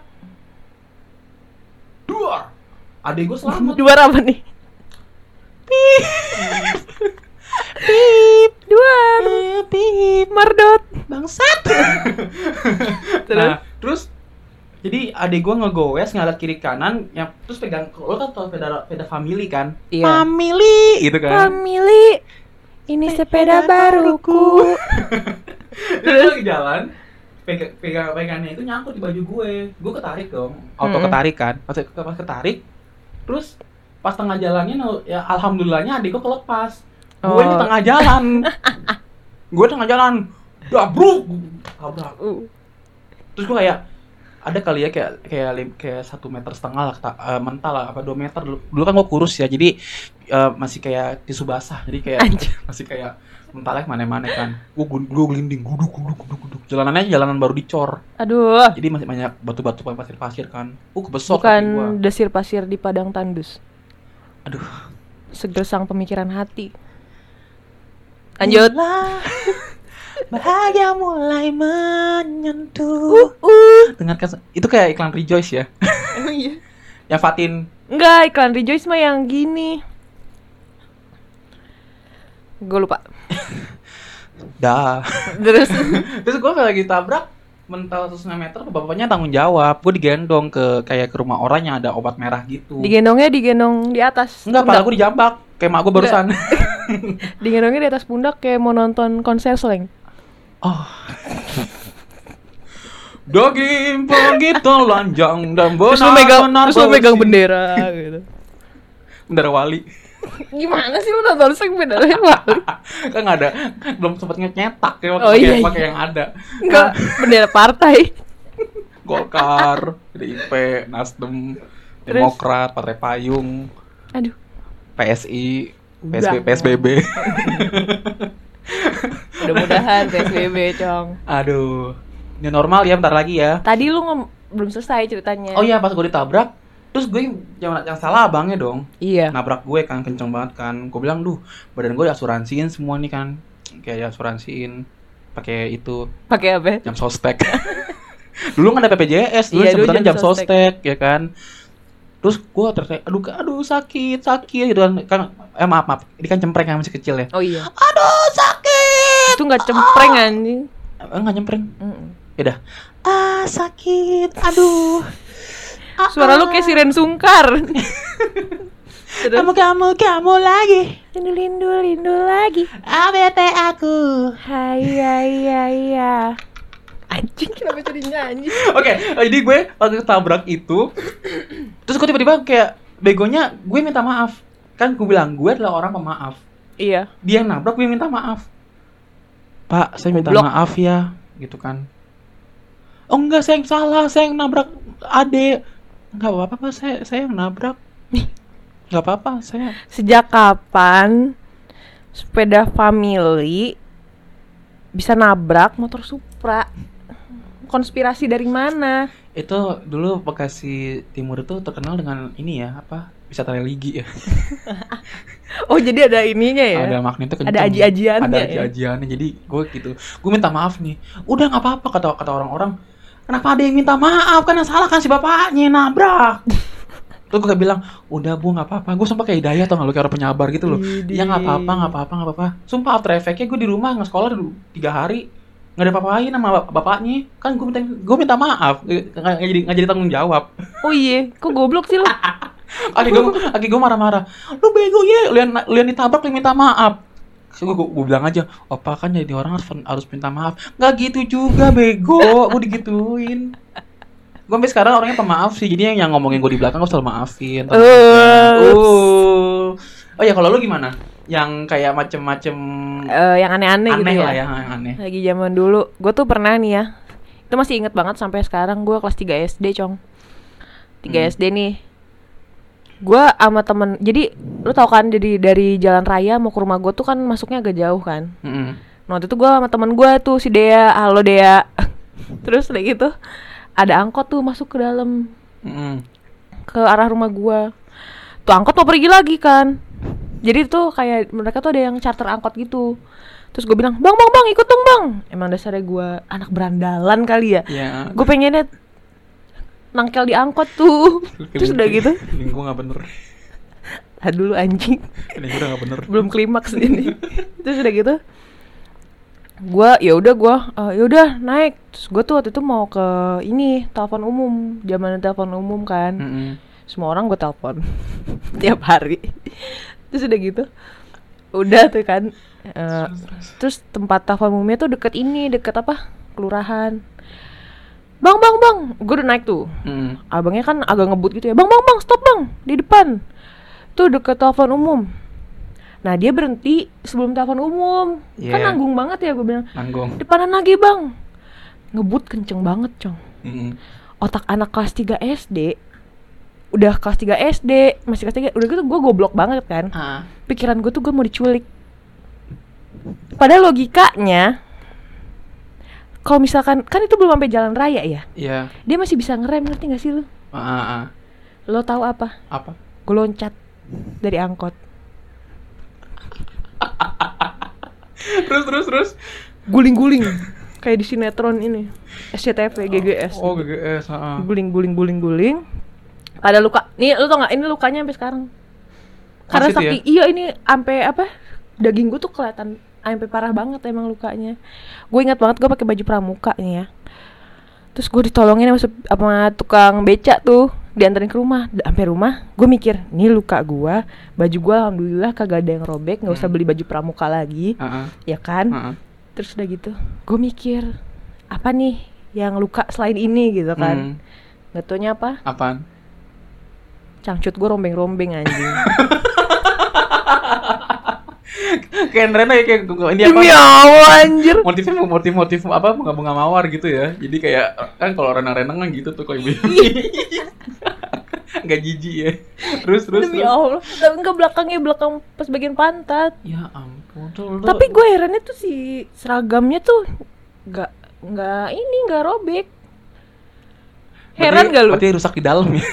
Speaker 2: Duar. Adek gue selamat.
Speaker 1: Juara apa nih? Pip, duar,
Speaker 2: Pip,
Speaker 1: mardot,
Speaker 2: bangsat.
Speaker 1: terus
Speaker 2: Nah, terus jadi adik gue ngegoes ngeliat kiri kanan, yang terus pegang, lo kan tau sepeda sepeda family kan?
Speaker 1: Iya.
Speaker 2: Family, gitu kan?
Speaker 1: Family, ini sepeda baruku.
Speaker 2: Terus gue lagi jalan, pegang pegang pegangannya itu nyangkut di baju gue, gue ketarik dong, auto
Speaker 1: Mm-mm.
Speaker 2: ketarik kan, pas pas ketarik, terus pas tengah jalannya, ya alhamdulillahnya adik gue kelepas, gue di
Speaker 1: Oh.
Speaker 2: tengah jalan, gue tengah jalan, dabruk, tabrak,
Speaker 1: Uh.
Speaker 2: terus gue kayak ada kali ya kayak kayak lim- kayak satu meter setengah lah, kata- eh, mental lah apa dua meter dulu, dulu kan gue kurus ya, jadi eh, masih kayak tisu basah, jadi kayak
Speaker 1: Anjir.
Speaker 2: masih kayak mentalnya mana-mana kan, gue gue gelinding, guduk guduk guduk guduk, jalanannya jalanan baru dicor,
Speaker 1: Aduh,
Speaker 2: jadi masih banyak batu-batu pasir-pasir kan, uh kebesok kaki gue,
Speaker 1: bukan desir pasir di padang tandus.
Speaker 2: aduh,
Speaker 1: Segersang pemikiran hati. Lanjut.
Speaker 2: bahagia mulai menyentuh.
Speaker 1: Uh.
Speaker 2: Dengarkan, itu kayak iklan Rejoice ya,
Speaker 1: Emang iya?
Speaker 2: yang Fatin.
Speaker 1: Enggak, iklan Rejoice mah yang gini. Gue lupa.
Speaker 2: Dah.
Speaker 1: Terus
Speaker 2: Terus gue lagi tabrak mental seratus meter, bapaknya tanggung jawab. Gue digendong ke kayak ke rumah orang yang ada obat merah gitu.
Speaker 1: digendongnya digendong di atas.
Speaker 2: Enggak,
Speaker 1: pundak.
Speaker 2: pala gue dijambak kayak mak gue barusan.
Speaker 1: Digendongnya di atas pundak kayak mau nonton konser slang.
Speaker 2: Oh. Daging pergi telanjang dan
Speaker 1: Terus lu megang,
Speaker 2: benar-benar
Speaker 1: terus lu megang
Speaker 2: bersih.
Speaker 1: bendera gitu.
Speaker 2: Bendera wali.
Speaker 1: Gimana sih lu nonton slang benderanya Wali?
Speaker 2: Kan nggak ada, belum sempat nyetak ya,
Speaker 1: Oh,
Speaker 2: pakai
Speaker 1: iya, iya.
Speaker 2: pakai yang ada.
Speaker 1: Enggak, bendera partai.
Speaker 2: Golkar, P D I P, Nasdem,
Speaker 1: Terus?
Speaker 2: Demokrat, Partai Payung,
Speaker 1: Aduh.
Speaker 2: P S I, P S B,
Speaker 1: Udah.
Speaker 2: P S B B.
Speaker 1: Mudah-mudahan P S B B, Cong.
Speaker 2: Aduh, ini normal ya, bentar lagi ya.
Speaker 1: Tadi lu ngom- belum selesai ceritanya.
Speaker 2: Oh iya, pas gue ditabrak, terus gue yang, yang salah abangnya dong.
Speaker 1: Iya.
Speaker 2: Nabrak gue kan, kenceng banget kan. Gue bilang, duh, badan gue diasuransiin semua nih kan. Kayak diasuransiin pakai itu,
Speaker 1: Pakai apa?
Speaker 2: jam sostek. Dulu kan ada P P J S, dulu
Speaker 1: Iya, dulu
Speaker 2: sebutannya
Speaker 1: jam
Speaker 2: jam sostek, ya kan. Terus gue teriak, aduh, aduh sakit, sakit gitu kan. kan eh maaf, maaf, ini kan cempreng yang masih kecil ya.
Speaker 1: Oh iya.
Speaker 2: Aduh sakit.
Speaker 1: Itu nggak cempreng anjing.
Speaker 2: Eh, nggak nyempreng.
Speaker 1: Mm-mm.
Speaker 2: Yaudah. Ah sakit, aduh. Ah,
Speaker 1: Suara lu
Speaker 2: ah.
Speaker 1: kayak siren sungkar. Terus
Speaker 2: Kamu, kamu, kamu lagi.
Speaker 1: lindu lindu lindu lagi.
Speaker 2: A B T aku.
Speaker 1: Hai hai hai ya. Anjing kenapa jadi nyanyi?
Speaker 2: Oke, jadi gue waktu tabrak itu, terus gue tiba-tiba kayak begonya gue minta maaf. Kan gue bilang gue adalah orang pemaaf.
Speaker 1: Iya.
Speaker 2: Dia yang nabrak, gue minta maaf. Pak, saya minta
Speaker 1: Goblok.
Speaker 2: maaf ya, gitu kan. Oh enggak, saya yang salah, saya yang nabrak Ade. Enggak apa-apa, Pak, saya saya yang nabrak. Enggak apa-apa, saya.
Speaker 1: Sejak kapan sepeda family bisa nabrak motor Supra? Konspirasi dari mana?
Speaker 2: Itu dulu Bekasi Timur itu terkenal dengan ini ya, apa? Wisata religi ya.
Speaker 1: Oh jadi ada ininya ya?
Speaker 2: Ada magnetnya kenceng.
Speaker 1: Ada aji-ajiannya
Speaker 2: Ada
Speaker 1: ya?
Speaker 2: aji-ajiannya. Jadi gue gitu. Gue minta maaf nih. Udah nggak apa-apa kata kata orang-orang. Kenapa ada yang minta maaf? Kan yang salah kan si bapaknya yang nabrak. Terus gue kayak bilang, udah bu nggak apa-apa. Gue sumpah kayak Hidayah tau nggak lu, kayak orang penyabar gitu loh.
Speaker 1: Widih.
Speaker 2: Ya nggak apa-apa, nggak apa-apa, nggak apa-apa. Sumpah after effect-nya gue di rumah nggak sekolah dulu tiga hari. Nggak ada apa-apain sama bap- bapaknya. Kan gue minta gue minta maaf. Nggak nggak jadi nggak jadi tanggung jawab.
Speaker 1: Oh iya, kok goblok sih lu?
Speaker 2: Aki gue, aki gue marah-marah. Lu bego ya, lu yang, lu yang ditabrak lu minta maaf. Gue, gue, gue bilang aja, opa kan jadi orang harus, harus minta maaf. Nggak gitu juga bego, gue digituin. Gue sampai sekarang orangnya pemaaf sih, jadi yang, yang ngomongin gue di belakang gue selalu maafin.
Speaker 1: Uh.
Speaker 2: Uh. Oh ya kalau lu gimana? Yang kayak macem-macem
Speaker 1: Eh, yang aneh-aneh gitu
Speaker 2: aneh
Speaker 1: ya?
Speaker 2: lah ya, yang aneh.
Speaker 1: Lagi zaman dulu, gue tuh pernah nih ya. Itu masih inget banget sampai sekarang. Gue kelas tiga S D, Cong. tiga
Speaker 2: Hmm.
Speaker 1: S D nih. Gue sama temen, jadi lu tau kan dari dari jalan raya mau ke rumah gue tuh kan masuknya agak jauh kan.
Speaker 2: Mm-mm.
Speaker 1: Nah waktu itu gue sama temen gue tuh si Dea, halo Dea. Terus kayak gitu ada angkot tuh masuk ke dalam
Speaker 2: Mm-mm.
Speaker 1: ke arah rumah gue. Tuh angkot mau pergi lagi kan. Jadi tuh kayak mereka tuh ada yang charter angkot gitu. Terus gue bilang, bang bang bang ikut dong bang. Emang dasarnya gue anak berandalan kali ya.
Speaker 2: Ya.
Speaker 1: Gue pengennya nangkel di angkot tuh. Terus udah gitu
Speaker 2: Gue nggak bener.
Speaker 1: Ah dulu anjing.
Speaker 2: Ini udah nggak bener.
Speaker 1: Belum klimaks ini. Terus udah gitu gua ya udah gua uh, ya udah naik. Terus gua tuh waktu itu mau ke ini telepon umum, zaman telepon umum kan.
Speaker 2: Mm-mm.
Speaker 1: Semua orang gua telepon tiap hari. Terus udah gitu udah tuh kan uh, terus tempat telepon umumnya tuh deket ini, deket apa kelurahan. Bang bang bang, gue udah naik tuh.
Speaker 2: Mm.
Speaker 1: Abangnya kan agak ngebut gitu ya. Bang bang bang, stop bang, di depan. Tuh deket telepon umum. Nah dia berhenti sebelum telepon umum.
Speaker 2: Yeah.
Speaker 1: Kan nanggung banget ya, gue bilang.
Speaker 2: Nanggung.
Speaker 1: Depanan lagi bang. Ngebut kenceng banget cong.
Speaker 2: Mm-mm.
Speaker 1: Otak anak kelas tiga S D. Udah kelas tiga S D, masih kelas tiga. Udah gitu gue goblok banget kan.
Speaker 2: Ah.
Speaker 1: Pikiran gue tuh gue mau diculik. Padahal logikanya kalau misalkan kan itu belum sampai jalan raya ya.
Speaker 2: Iya.
Speaker 1: Dia masih bisa ngerem, ngerti gak sih lu?
Speaker 2: Ah, ah, ah.
Speaker 1: Lo tahu apa?
Speaker 2: Apa?
Speaker 1: Gue loncat dari angkot.
Speaker 2: Terus terus terus.
Speaker 1: Guling-guling kayak di sinetron ini S C T V G G S.
Speaker 2: Oh, G G S, heeh.
Speaker 1: Guling-guling guling-guling. Ada luka. Nih lu tau gak? Ini lukanya sampai sekarang. Karena
Speaker 2: Masih tuh
Speaker 1: saking iya ini sampai apa? Daging gue tuh kelihatan sampai parah banget emang lukanya. Gue ingat banget gue pakai baju pramuka nih ya. Terus gue ditolongin sama, sama tukang beca tuh, dianterin ke rumah. Sampai rumah, gue mikir, nih luka gue, baju gue alhamdulillah kagak ada yang robek, nggak usah beli baju pramuka lagi,
Speaker 2: Uh-uh.
Speaker 1: ya kan?
Speaker 2: Uh-uh.
Speaker 1: Terus udah gitu, gue mikir, apa nih yang luka selain ini gitu kan?
Speaker 2: Hmm.
Speaker 1: Nggak taunya apa?
Speaker 2: Apaan?
Speaker 1: Cangcut gue rombeng-rombeng anjing.
Speaker 2: Kayak Rena ya, kayak ini apa?
Speaker 1: Demi Allah anjir.
Speaker 2: Motifnya motif-motif apa bunga-bunga mawar gitu ya. Jadi kayak kan kalau renang-renang kan gitu tuh kalau ibu. Enggak jijik ya. Terus terus.
Speaker 1: Demi
Speaker 2: terus.
Speaker 1: Allah. Tapi enggak belakangnya, belakang pas bagian pantat.
Speaker 2: Ya ampun tuh.
Speaker 1: Tapi gue herannya tuh si seragamnya tuh enggak enggak ini enggak robek. Heran gak lu?
Speaker 2: Berarti rusak di dalam ya.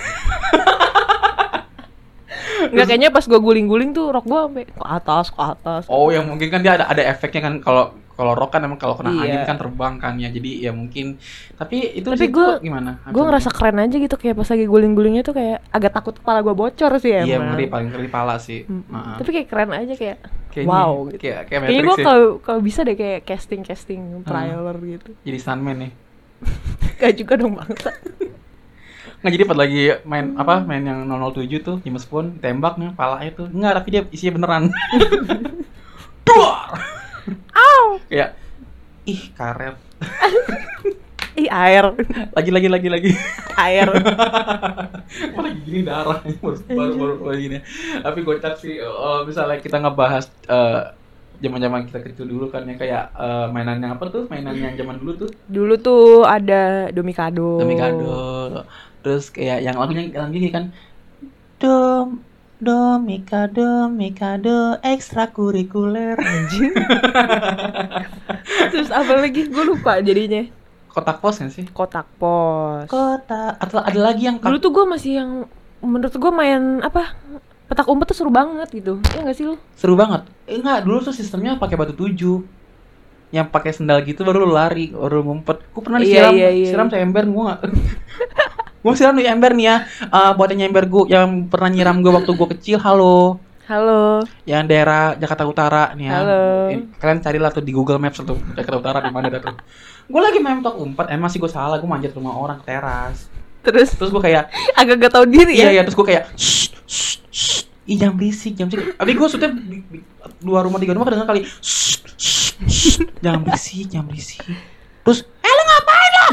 Speaker 1: Enggak, kayaknya pas gue guling-guling tuh rok gue sampai ke atas, ke atas.
Speaker 2: Oh, yang mungkin kan dia ada ada efeknya kan kalau kalau rok kan emang kalau kena
Speaker 1: Iya.
Speaker 2: angin kan terbang kan ya. Jadi ya mungkin tapi itu
Speaker 1: Tapi
Speaker 2: sih
Speaker 1: gua-
Speaker 2: tuh gimana?
Speaker 1: Gue ngerasa keren aja gitu, kayak pas lagi guling-gulingnya tuh kayak agak takut kepala gue bocor sih emang.
Speaker 2: Iya, ngeri paling ngeri pala sih.
Speaker 1: Mm-mm.
Speaker 2: Heeh.
Speaker 1: Tapi kayak keren aja kayak
Speaker 2: Kayaknya-
Speaker 1: wow gitu.
Speaker 2: Kayak kayak
Speaker 1: Kayaknya
Speaker 2: Matrix
Speaker 1: gue
Speaker 2: ya.
Speaker 1: kalau kalau bisa deh kayak casting-casting trailer gitu.
Speaker 2: Jadi stuntman nih.
Speaker 1: Gak juga dong bangsa.
Speaker 2: Nggak, jadi pas lagi main apa main yang nol nol tujuh tuh James Bond tembak nih palanya tuh nggak, tapi dia isinya beneran. Duar.
Speaker 1: Au.
Speaker 2: Kayak ih karet.
Speaker 1: Ih air.
Speaker 2: Lagi lagi lagi lagi.
Speaker 1: Air.
Speaker 2: Kok lagi gini darah baru baru baru baru gini. Tapi gocap sih uh, misalnya kita ngebahas uh, zaman-zaman kita kecil dulu kan ya kayak uh, mainannya apa tuh mainannya zaman dulu tuh
Speaker 1: Dulu tuh ada Domikado.
Speaker 2: Domikado. Terus kayak yang lagunya yang gini kan Dom Domikado Mikado ekstrakurikuler
Speaker 1: Anjing. Terus apa lagi? Gue lupa jadinya.
Speaker 2: kotak pos kan sih?
Speaker 1: Kotak pos.
Speaker 2: Kotak atau ada lagi yang
Speaker 1: Dulu tuh gue masih yang menurut gue main apa? Petak umpet tuh seru banget gitu. Iya enggak sih lu?
Speaker 2: seru banget. Eh, enggak, dulu tuh sistemnya pakai batu tujuh. Yang pakai sendal gitu baru lu lari, baru ngumpet. Gue pernah
Speaker 1: Iya,
Speaker 2: disiram,
Speaker 1: iya, iya.
Speaker 2: siram seember gue enggak. Gue siram di ember nih ya. Uh, buat yang ember gue yang pernah nyiram gue waktu gue kecil, halo.
Speaker 1: Halo.
Speaker 2: Yang daerah Jakarta Utara nih ya.
Speaker 1: Halo.
Speaker 2: Ini, kalian carilah tuh di Google Maps tuh Jakarta Utara di mana dah tuh. Gue lagi main petak umpet, emang sih gue salah, gue manjat rumah orang ke teras.
Speaker 1: Terus
Speaker 2: Terus gue kayak
Speaker 1: agak gak tahu diri
Speaker 2: iya
Speaker 1: ya.
Speaker 2: iya terus gue kayak shh, shh, shh. Ih jangan berisik, jangan berisik. Tapi gue sudah di, di, dua rumah tiga rumah kedengeran kali. Shh, shh, shh. Jangan berisik, jangan berisik. Terus, eh lu ngapain lo?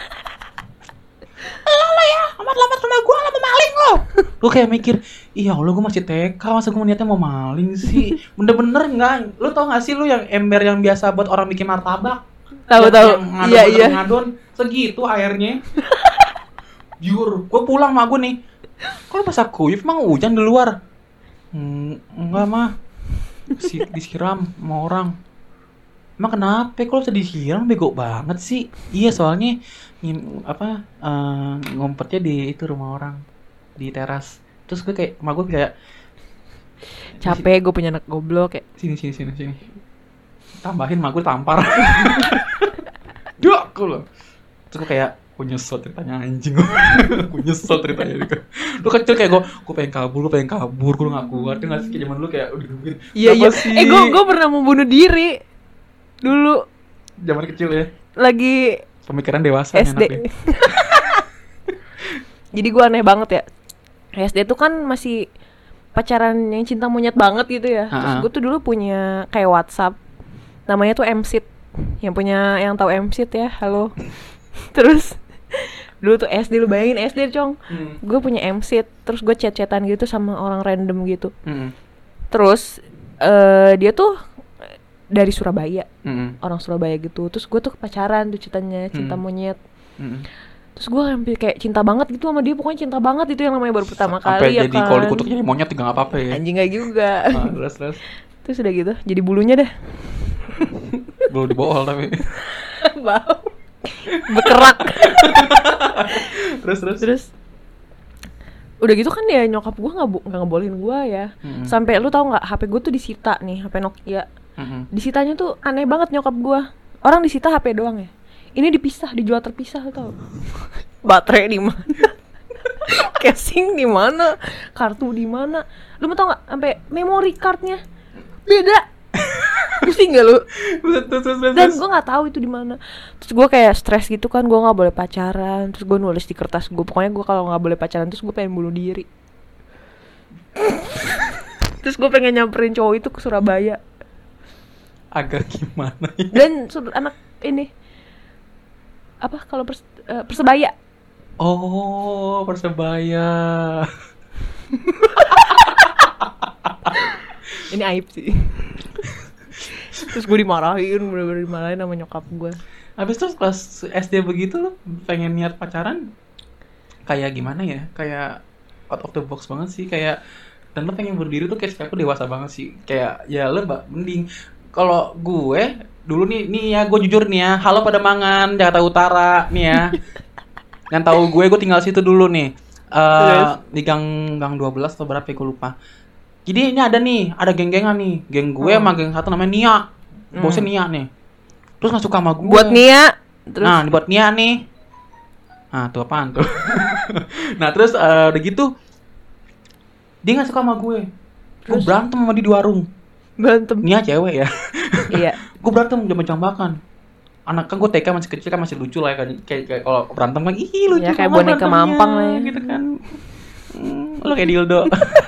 Speaker 2: Lo lo ya, amat-amat rumah gue lah mau maling lo. Gue kayak mikir, iya Allah gue masih T K, masa gue niatnya mau maling sih. Bener-bener nggak? Lu tau nggak sih lu yang ember yang biasa buat orang bikin martabak?
Speaker 1: Tahu
Speaker 2: Yang-
Speaker 1: tahu.
Speaker 2: yang ngadon,
Speaker 1: Iya
Speaker 2: ngadon,
Speaker 1: iya.
Speaker 2: ngadon, segitu airnya. Jujur, gue pulang sama gue nih. Kok pas aku wif emang hujan di luar? Hmm, enggak mah. Si, disiram sama orang. Emang kenapa? Kok lo bisa disiram? Bego banget sih. Iya soalnya ngim, apa uh, ngumpetnya di itu rumah orang di teras. Terus gue kayak, sama gue kayak
Speaker 1: Capek gue punya anak goblok kayak.
Speaker 2: sini sini sini sini. Tambahin sama gue tampar. Duh, aku loh. Terus gue kayak Aku nyesel ceritanya anjing. Aku nyesel ceritanya ini. Lu kecil kayak gue, gue pengen kabur, gue pengen kabur, gue gak kuat. Dia ngasih kayak zaman dulu kayak udah gitu.
Speaker 1: Iya iya. Eh gue gue pernah mau bunuh diri dulu.
Speaker 2: Zaman kecil ya.
Speaker 1: Lagi
Speaker 2: pemikiran dewasa
Speaker 1: S D. Jadi gue aneh banget ya. S D tuh kan masih pacaran yang cinta monyet banget gitu ya. Terus gue tuh dulu punya kayak WhatsApp. Namanya tuh M S I T. Yang punya yang tahu M S I T ya, halo. Terus dulu tuh S D, lu bayangin S D cong. Hmm. Gue punya M S I T, terus gue chat-chatan gitu sama orang random gitu. Hmm. Terus uh, dia tuh dari Surabaya, hmm. orang Surabaya gitu. Terus gue tuh pacaran tuh ceritanya, cinta hmm. monyet. Hmm. Terus gue hampir kayak cinta banget gitu sama dia, pokoknya cinta banget itu yang namanya baru pertama
Speaker 2: sampai
Speaker 1: kali ya kan.
Speaker 2: Sampai jadi kalau dikutuk jadi monyet juga gak apa-apa ya.
Speaker 1: Anjing gak juga.
Speaker 2: Nah, terus terus.
Speaker 1: Terus udah gitu, jadi bulunya dah.
Speaker 2: Bulu dibohol tapi.
Speaker 1: Bau. Berkerak.
Speaker 2: terus terus
Speaker 1: terus udah gitu kan ya nyokap gue nggak nggak ngebolehin gue ya. Mm-hmm. Sampai lu tahu nggak H P gue tuh disita nih, H P Nokia. Mm-hmm. Disitanya tuh aneh banget nyokap gue. Orang disita H P doang ya, ini dipisah, dijual terpisah tau. Baterai di mana, casing di mana, kartu di mana. Lu mau tau nggak sampai memory cardnya beda. Pusing gak lu? Dan gue nggak tahu itu di mana. Terus gue kayak stres gitu kan, gue nggak boleh pacaran. Terus gue nulis di kertas gue, pokoknya gue kalau nggak boleh pacaran terus gue pengen bunuh diri. Terus gue pengen nyamperin cowok itu ke Surabaya.
Speaker 2: Agak gimana ya?
Speaker 1: Dan anak ini apa kalau pers, uh, Persebaya.
Speaker 2: Oh, Persebaya.
Speaker 1: Ini aib sih. Terus gue dimarahin, bener-bener dimarahin sama nyokap gue.
Speaker 2: Habis itu pas S D begitu lu pengen niat pacaran kayak gimana ya? Kayak out of the box banget sih, kayak dan lu pengen berdiri tuh kayak aku dewasa banget sih. Kayak ya lu mbak mending kalau gue dulu nih nih ya gue jujur nih ya, halo pada mangan Jakarta Utara nih ya. Yang tahu gue gue tinggal situ dulu nih. Uh, di gang gang dua belas atau berapa ya gue lupa. Jadi ini ada nih, ada geng-gengan nih. Geng gue hmm. sama geng satu namanya Nia. Hmm. Bosnya Nia nih. Terus gak suka sama gue.
Speaker 1: Buat Nia. Terus?
Speaker 2: Nah, dibuat Nia nih. Nah, tuh apaan tuh? Nah, terus uh, udah gitu dia gak suka sama gue. Gue berantem sama dia di warung.
Speaker 1: Berantem?
Speaker 2: Nia cewek ya.
Speaker 1: Iya.
Speaker 2: Gue berantem jambak-jambakan. Anak kan gue T K masih kecil kan masih lucu lah ya kan. Kayak, kayak kalau berantem kan ih lucu
Speaker 1: ya, kayak boneka mampang lah ya.
Speaker 2: Gitu kan. Hmm, lo kayak dildo.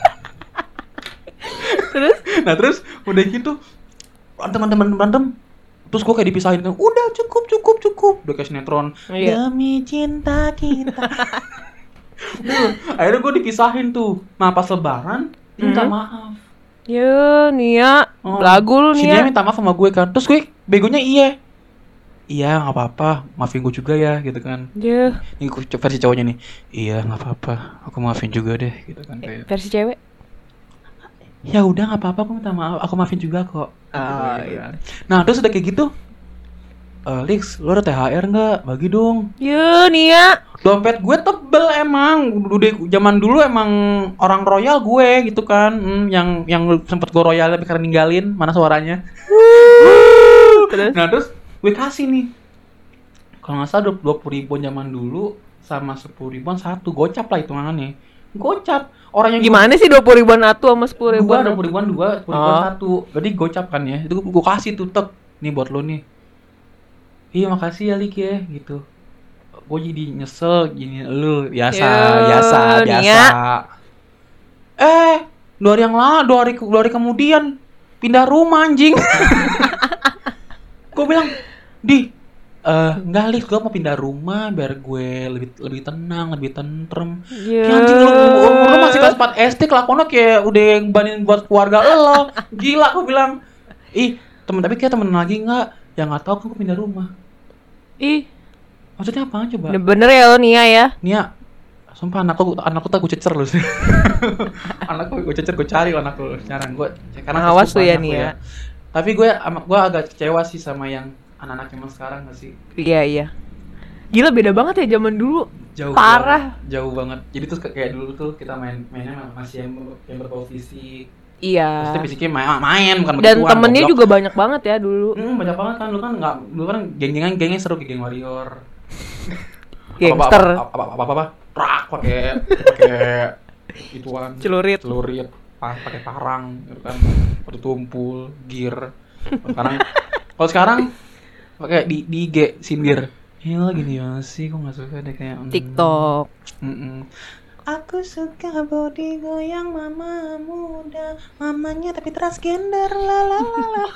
Speaker 1: Terus?
Speaker 2: Nah terus udah gitu teman-teman berantem, terus gue kayak dipisahin kan, udah cukup cukup cukup, udah kayak sinetron. Iya. Demi cinta kita. Akhirnya gue dipisahin tuh. Nah pas lebaran minta mm-hmm. maaf.
Speaker 1: Ya Nia, oh, lagu lu Nia.
Speaker 2: Si Nia minta maaf sama gue kan, terus gue begonya iya. Iya nggak apa-apa, maafin gue juga ya gitu kan.
Speaker 1: Iya. Yeah.
Speaker 2: Ini versi cowoknya nih. Iya nggak apa-apa, aku maafin juga deh gitu kan kayak.
Speaker 1: Versi cewek?
Speaker 2: Ya udah nggak apa-apa, aku minta maaf, aku maafin juga kok.
Speaker 1: Ah, gitu, iya.
Speaker 2: Nah terus udah kayak gitu, uh, Lix, lo ada T H R nggak? Bagi dong.
Speaker 1: Ya Nia.
Speaker 2: Dompet gue tebel emang, udah zaman dulu emang orang royal gue gitu kan, hmm, yang yang sempet gue royal tapi karena ninggalin, mana suaranya. Terus? Nah terus gue kasih nih, kalau nggak salah dua puluh ribuan zaman dulu sama sepuluh ribuan satu, gocap lah hitungannya. Gocap. Orang yang
Speaker 1: gimana gua... sih dua puluh ribuan satu sama sepuluh ribuan?
Speaker 2: dua puluh ribuan dua, sepuluh ribuan satu. Jadi gocap kan ya. Itu gue kasih tuh tek. Nih buat lo nih. Iya makasih ya Lik ya gitu. Gue jadi nyesel gini lu biasa, Yuh, biasa, biasa. Nia. Eh, dua hari yang lalu, dua hari dua hari kemudian pindah rumah anjing. Gue bilang, "Di, Uh, enggak Lik, gue mau pindah rumah biar gue lebih lebih tenang, lebih tentrem." Yeah. Ya anjing lu, umur lu masih kelas empat S D, kelakuannya kayak udah ngebanin buat keluarga lo. Gila, gue bilang. Ih, temen tapi kayak temen lagi enggak? Ya enggak tahu kan gue pindah rumah.
Speaker 1: Ih,
Speaker 2: maksudnya apa coba?
Speaker 1: Bener ya lo Nia ya?
Speaker 2: Nia, sumpah anakku anakku tak gue cecer lu sih. Anakku gue cecer, gue cari anakku sekarang gue. Karena
Speaker 1: awas tuh ya Nia. Ya.
Speaker 2: Tapi gue gue agak kecewa sih sama yang anak-anak zaman sekarang gak sih?
Speaker 1: Iya iya. Gila beda banget ya zaman dulu.
Speaker 2: Jauh
Speaker 1: parah.
Speaker 2: Banget, jauh banget. Jadi tuh kayak dulu tuh kita main mainnya masih yang, yang berbau fisik.
Speaker 1: Iya.
Speaker 2: Maksudnya fisiknya main, main bukan
Speaker 1: begituan. Dan temennya goblok. Juga banyak banget ya dulu.
Speaker 2: Hmm, banyak banget kan. Lu kan nggak, lu kan geng-gengan gengnya seru kayak geng warrior.
Speaker 1: Gangster.
Speaker 2: Apa apa apa apa, apa. Prak pakai pakai ituan
Speaker 1: Celurit.
Speaker 2: celurit pa- pakai parang gitu kan, pakai tumpul gear. Sekarang kalau sekarang pakai di di I G sindir. Ya gini ya sih, kok nggak suka deh kayak mm,
Speaker 1: TikTok.
Speaker 2: mm-mm. Aku suka body goyang mama muda, mamanya tapi transgender lalalala.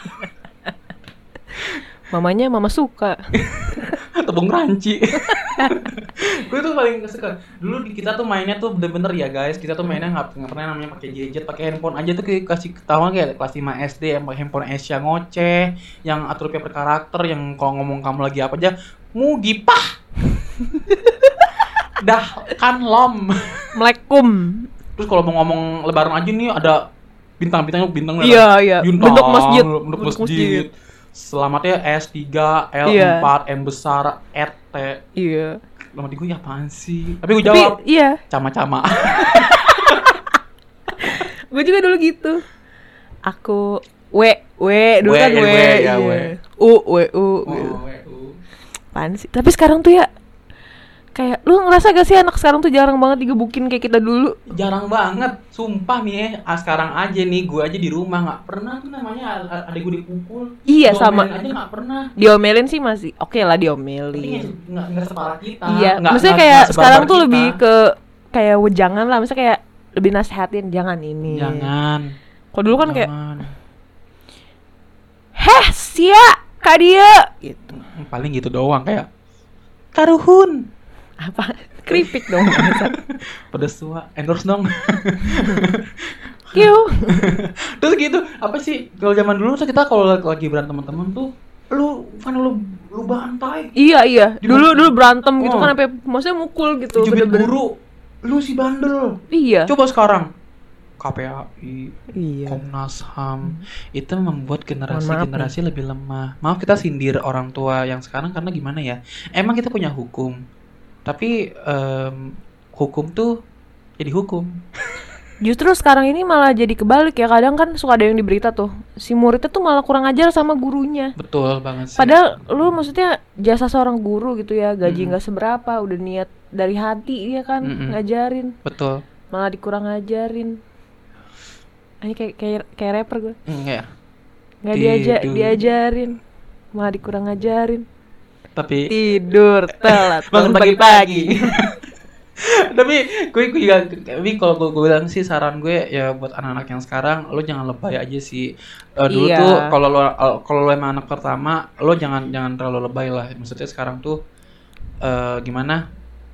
Speaker 1: Mamanya mama suka.
Speaker 2: Tepung ranci. Gue tuh paling suka. Dulu di kita tuh mainnya tuh bener-bener ya guys, kita tuh mainnya nggak nggak pernah namanya pakai gadget, pakai handphone aja tuh kayak kasih ketahuan kayak kelas lima S D yang pakai handphone Asia ngoceh, yang atur per karakter, yang kalau ngomong kamu lagi apa aja, mugi pah. Dah kan lom.
Speaker 1: Melekum.
Speaker 2: Terus kalau mau ngomong lebaran aja nih ada bintang-bintangnya bintang
Speaker 1: Iya, iya.
Speaker 2: bintang,
Speaker 1: Bentuk masjid.
Speaker 2: bentuk
Speaker 1: Bentuk
Speaker 2: masjid.
Speaker 1: masjid.
Speaker 2: Selamatnya S tiga, L
Speaker 1: Iya.
Speaker 2: empat, M besar, R T.
Speaker 1: Iya.
Speaker 2: Lama di gue ya apaan sih? Tapi gue
Speaker 1: Tapi
Speaker 2: jawab
Speaker 1: iya,
Speaker 2: cama-cama.
Speaker 1: gue juga dulu gitu. Aku W W dulu
Speaker 2: W,
Speaker 1: kan
Speaker 2: ya,
Speaker 1: W,
Speaker 2: W, ya,
Speaker 1: iya.
Speaker 2: W.
Speaker 1: U W U gitu.
Speaker 2: Oh, W U.
Speaker 1: Apaan sih? Tapi sekarang tuh ya kayak lu ngerasa gak sih anak sekarang tuh jarang banget digebukin kayak kita dulu?
Speaker 2: Jarang banget, sumpah nih ya. Ah, sekarang aja nih, gue aja di rumah nggak pernah tuh namanya a- adek gue dipukul.
Speaker 1: Iya,
Speaker 2: Diomelin
Speaker 1: sama.
Speaker 2: aja nggak pernah.
Speaker 1: Diomelin sih masih oke lah
Speaker 2: Tapi
Speaker 1: diomelin.
Speaker 2: nggak nggak separah kita.
Speaker 1: Iya,
Speaker 2: Nggak-
Speaker 1: maksudnya
Speaker 2: nggak-
Speaker 1: kayak
Speaker 2: nggak sebarbar
Speaker 1: sekarang tuh
Speaker 2: kita.
Speaker 1: lebih ke kayak wejangan lah, maksudnya kayak lebih nasehatin jangan ini.
Speaker 2: Jangan.
Speaker 1: Kalau dulu kan kayak
Speaker 2: Jangan.
Speaker 1: heh sia kak dia gitu.
Speaker 2: Paling gitu doang kayak karuhun.
Speaker 1: Apa? Keripik dong.
Speaker 2: Pedes tua, endorse dong.
Speaker 1: Kiu.
Speaker 2: Terus gitu, apa sih kalau zaman dulu tuh kita kalau lagi berantem teman-teman tuh lu kan lu lu bantai.
Speaker 1: Iya iya.
Speaker 2: Di
Speaker 1: Dulu
Speaker 2: mana?
Speaker 1: dulu berantem gitu
Speaker 2: Oh.
Speaker 1: kan sampai maksudnya mukul gitu.
Speaker 2: Dijubit
Speaker 1: bener-bener.
Speaker 2: guru, lu si bandel.
Speaker 1: Iya.
Speaker 2: Coba sekarang K P A I,
Speaker 1: Iya.
Speaker 2: Komnas H A M itu membuat
Speaker 1: Mohon maaf
Speaker 2: generasi-generasi lebih lemah. Maaf kita sindir orang tua yang sekarang karena gimana ya? Emang kita punya hukum, tapi em, hukum tuh jadi hukum.
Speaker 1: Justru sekarang ini malah jadi kebalik ya. Kadang kan suka ada yang di berita tuh. Si muridnya tuh malah kurang ajar sama gurunya.
Speaker 2: Betul banget sih.
Speaker 1: Padahal lu maksudnya jasa seorang guru gitu ya, gaji
Speaker 2: Mm-mm.
Speaker 1: nggak seberapa, udah niat dari hati dia kan
Speaker 2: Mm-mm.
Speaker 1: ngajarin,
Speaker 2: Betul.
Speaker 1: malah dikurang ngajarin. Ini kayak kayak kayak rapper gue.
Speaker 2: Enggak ya.
Speaker 1: Nggak diaja
Speaker 2: Tidur.
Speaker 1: diajarin, malah dikurang ngajarin.
Speaker 2: Tapi
Speaker 1: Tidur telat
Speaker 2: bangun
Speaker 1: bangun
Speaker 2: pagi-pagi.
Speaker 1: pagi-pagi.
Speaker 2: Tapi gue gue juga tapi kalau gue, gue bilang sih saran gue ya buat anak-anak yang sekarang lo jangan lebay aja sih. Eh, dulu
Speaker 1: Iya.
Speaker 2: tuh kalau lo kalau lo emang anak pertama lo jangan jangan terlalu lebay lah. Maksudnya sekarang tuh eh, gimana?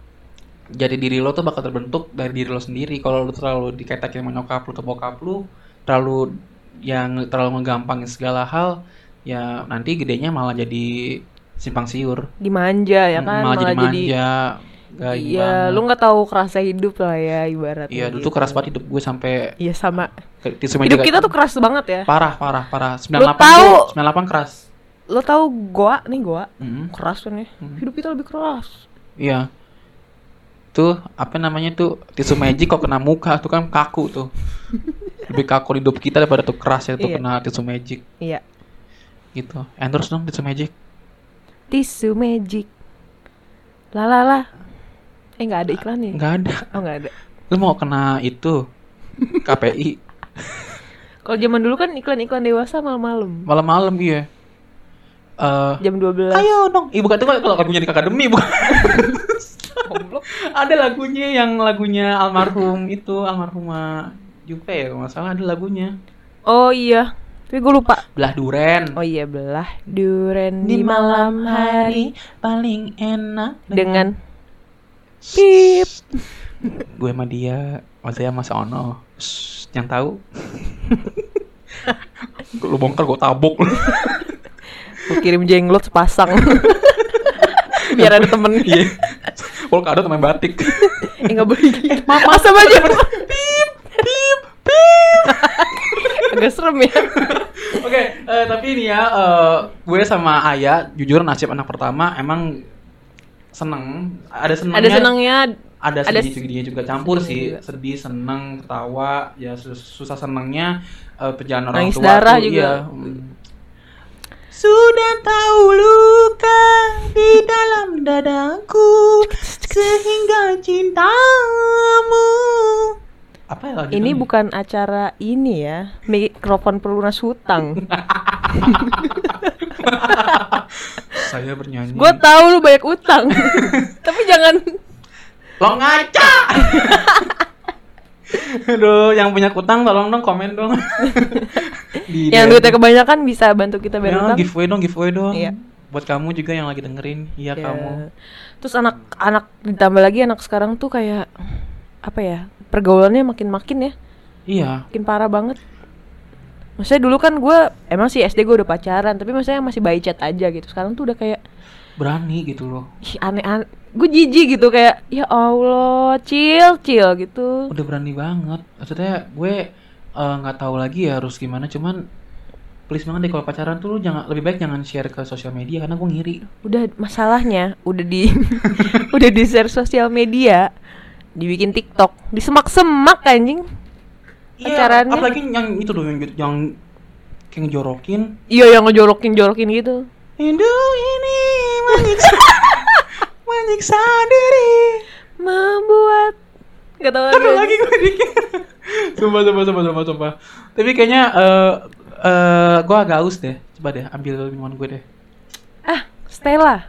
Speaker 2: Jadi diri lo tuh bakal terbentuk dari diri lo sendiri. Kalau lo terlalu dikait-kaitin sama nyokap lo atau bokap lo, terlalu yang terlalu ngegampangin segala hal, ya nanti gedenya malah jadi simpang siur.
Speaker 1: Dimanja ya kan,
Speaker 2: malah, jadi
Speaker 1: malah jadi
Speaker 2: manja. Gak ini
Speaker 1: iya,
Speaker 2: banget.
Speaker 1: lu nggak tahu kerasa hidup lah ya ibaratnya.
Speaker 2: Iya, dulu
Speaker 1: gitu.
Speaker 2: tuh keras banget hidup gue sampai
Speaker 1: Iya sama.
Speaker 2: ke tisu meja
Speaker 1: Hidup
Speaker 2: kayak-
Speaker 1: kita tuh keras banget ya.
Speaker 2: parah, parah, parah. sembilan
Speaker 1: Lu
Speaker 2: puluh delapan
Speaker 1: tahu-
Speaker 2: tuh, sembilan puluh delapan keras.
Speaker 1: Lo tahu goa nih goa
Speaker 2: Mm,
Speaker 1: keras kan ya.
Speaker 2: Hmm.
Speaker 1: Hidup kita lebih keras.
Speaker 2: iya. Tuh, apa namanya tuh? Tisu magic kok kena muka tuh kan kaku tuh. Lebih kaku hidup kita daripada tuh keras ya tuh
Speaker 1: Iya.
Speaker 2: kena tisu magic
Speaker 1: Iya.
Speaker 2: gitu. Endorse dong tisu magic.
Speaker 1: Tisu magic. Lalala. Eh nggak ada iklannya.
Speaker 2: Enggak ada.
Speaker 1: Oh nggak ada.
Speaker 2: Lu mau kena itu K P I
Speaker 1: Kalau zaman dulu kan iklan-iklan dewasa malam-malam.
Speaker 2: malam-malam iya. Eh,
Speaker 1: Jam dua belas.
Speaker 2: ayo dong. Ih, bukan tuh kalau lagunya di Akademi bukan. Ada lagunya yang lagunya almarhum itu almarhumah Jupe ya kalau nggak salah ada lagunya.
Speaker 1: Oh iya. Tapi gue lupa.
Speaker 2: Belah duren.
Speaker 1: Oh iya belah duren di malam hari
Speaker 2: paling enak
Speaker 1: dengan pip.
Speaker 2: gue sama dia, mas saya mas Ono. Shh, yang tahu. Lu bongkar gue tabok.
Speaker 1: Gue kirim jenglot sepasang. Biar ada temen.
Speaker 2: Iya. Kalau nggak ada teman batik.
Speaker 1: Eh nggak boleh gitu. Mama sama aja.
Speaker 2: Pip, pip, pip.
Speaker 1: Agak serem ya.
Speaker 2: Oke, eh, tapi ini ya, eh, gue sama Aya, jujur nasib anak pertama emang seneng. Ada senengnya.
Speaker 1: Ada senangnya.
Speaker 2: Ada
Speaker 1: ada
Speaker 2: sedih-sedihnya juga campur
Speaker 1: sedih
Speaker 2: sih,
Speaker 1: juga.
Speaker 2: sedih, seneng, ketawa, ya sus- susah senengnya eh, perjalanan orang
Speaker 1: Nangis
Speaker 2: tua
Speaker 1: darah
Speaker 2: tuh,
Speaker 1: juga.
Speaker 2: iya. Hmm. Sudah tahu luka di dalam dadaku sehingga cintamu. Apa ya lagi?
Speaker 1: Ini bukan acara ini ya. Mikrofon pelunas hutang.
Speaker 2: Saya bernyanyi.
Speaker 1: Gue tahu lu banyak utang. Tapi jangan
Speaker 2: lo ngaca. Aduh, yang punya utang tolong dong komen dong. Di
Speaker 1: yang duitnya kebanyakan bisa bantu kita bayar
Speaker 2: ya,
Speaker 1: utang.
Speaker 2: giveaway dong, giveaway dong.
Speaker 1: Iya.
Speaker 2: Buat kamu juga yang lagi dengerin, iya
Speaker 1: Ya.
Speaker 2: kamu.
Speaker 1: Terus anak-anak ditambah lagi anak sekarang tuh kayak apa ya? Pergaulannya makin-makin ya.
Speaker 2: Iya.
Speaker 1: Makin parah banget. Maksudnya dulu kan gue emang sih S D gue udah pacaran, tapi maksudnya masih by chat aja gitu. Sekarang tuh udah kayak
Speaker 2: Berani gitu loh.
Speaker 1: ih, aneh-aneh. Gue jijik gitu kayak ya Allah, chill chill gitu.
Speaker 2: Udah berani banget. Maksudnya gue nggak uh, tahu lagi ya harus gimana. Cuman please banget deh kalau pacaran tuh lu jangan, lebih baik jangan share ke sosial media karena gue ngiri.
Speaker 1: Udah masalahnya udah di udah di share sosial media, dibikin TikTok, disemak-semak anjing.
Speaker 2: Iya.
Speaker 1: Pacarannya.
Speaker 2: Apalagi yang itu loh yang yang kayak ngejorokin.
Speaker 1: Iya yang ngejorokin-jorokin gitu.
Speaker 2: Hidup ini menyiksa, menyiksa diri,
Speaker 1: membuat nggak tahu
Speaker 2: aduh lagi gue dikit. Sumpah, sumpah, sumpah, sumpah, sumpah. Tapi kayaknya uh, uh, gue agak haus deh. Coba deh ambil minuman gue deh.
Speaker 1: Ah, Stella.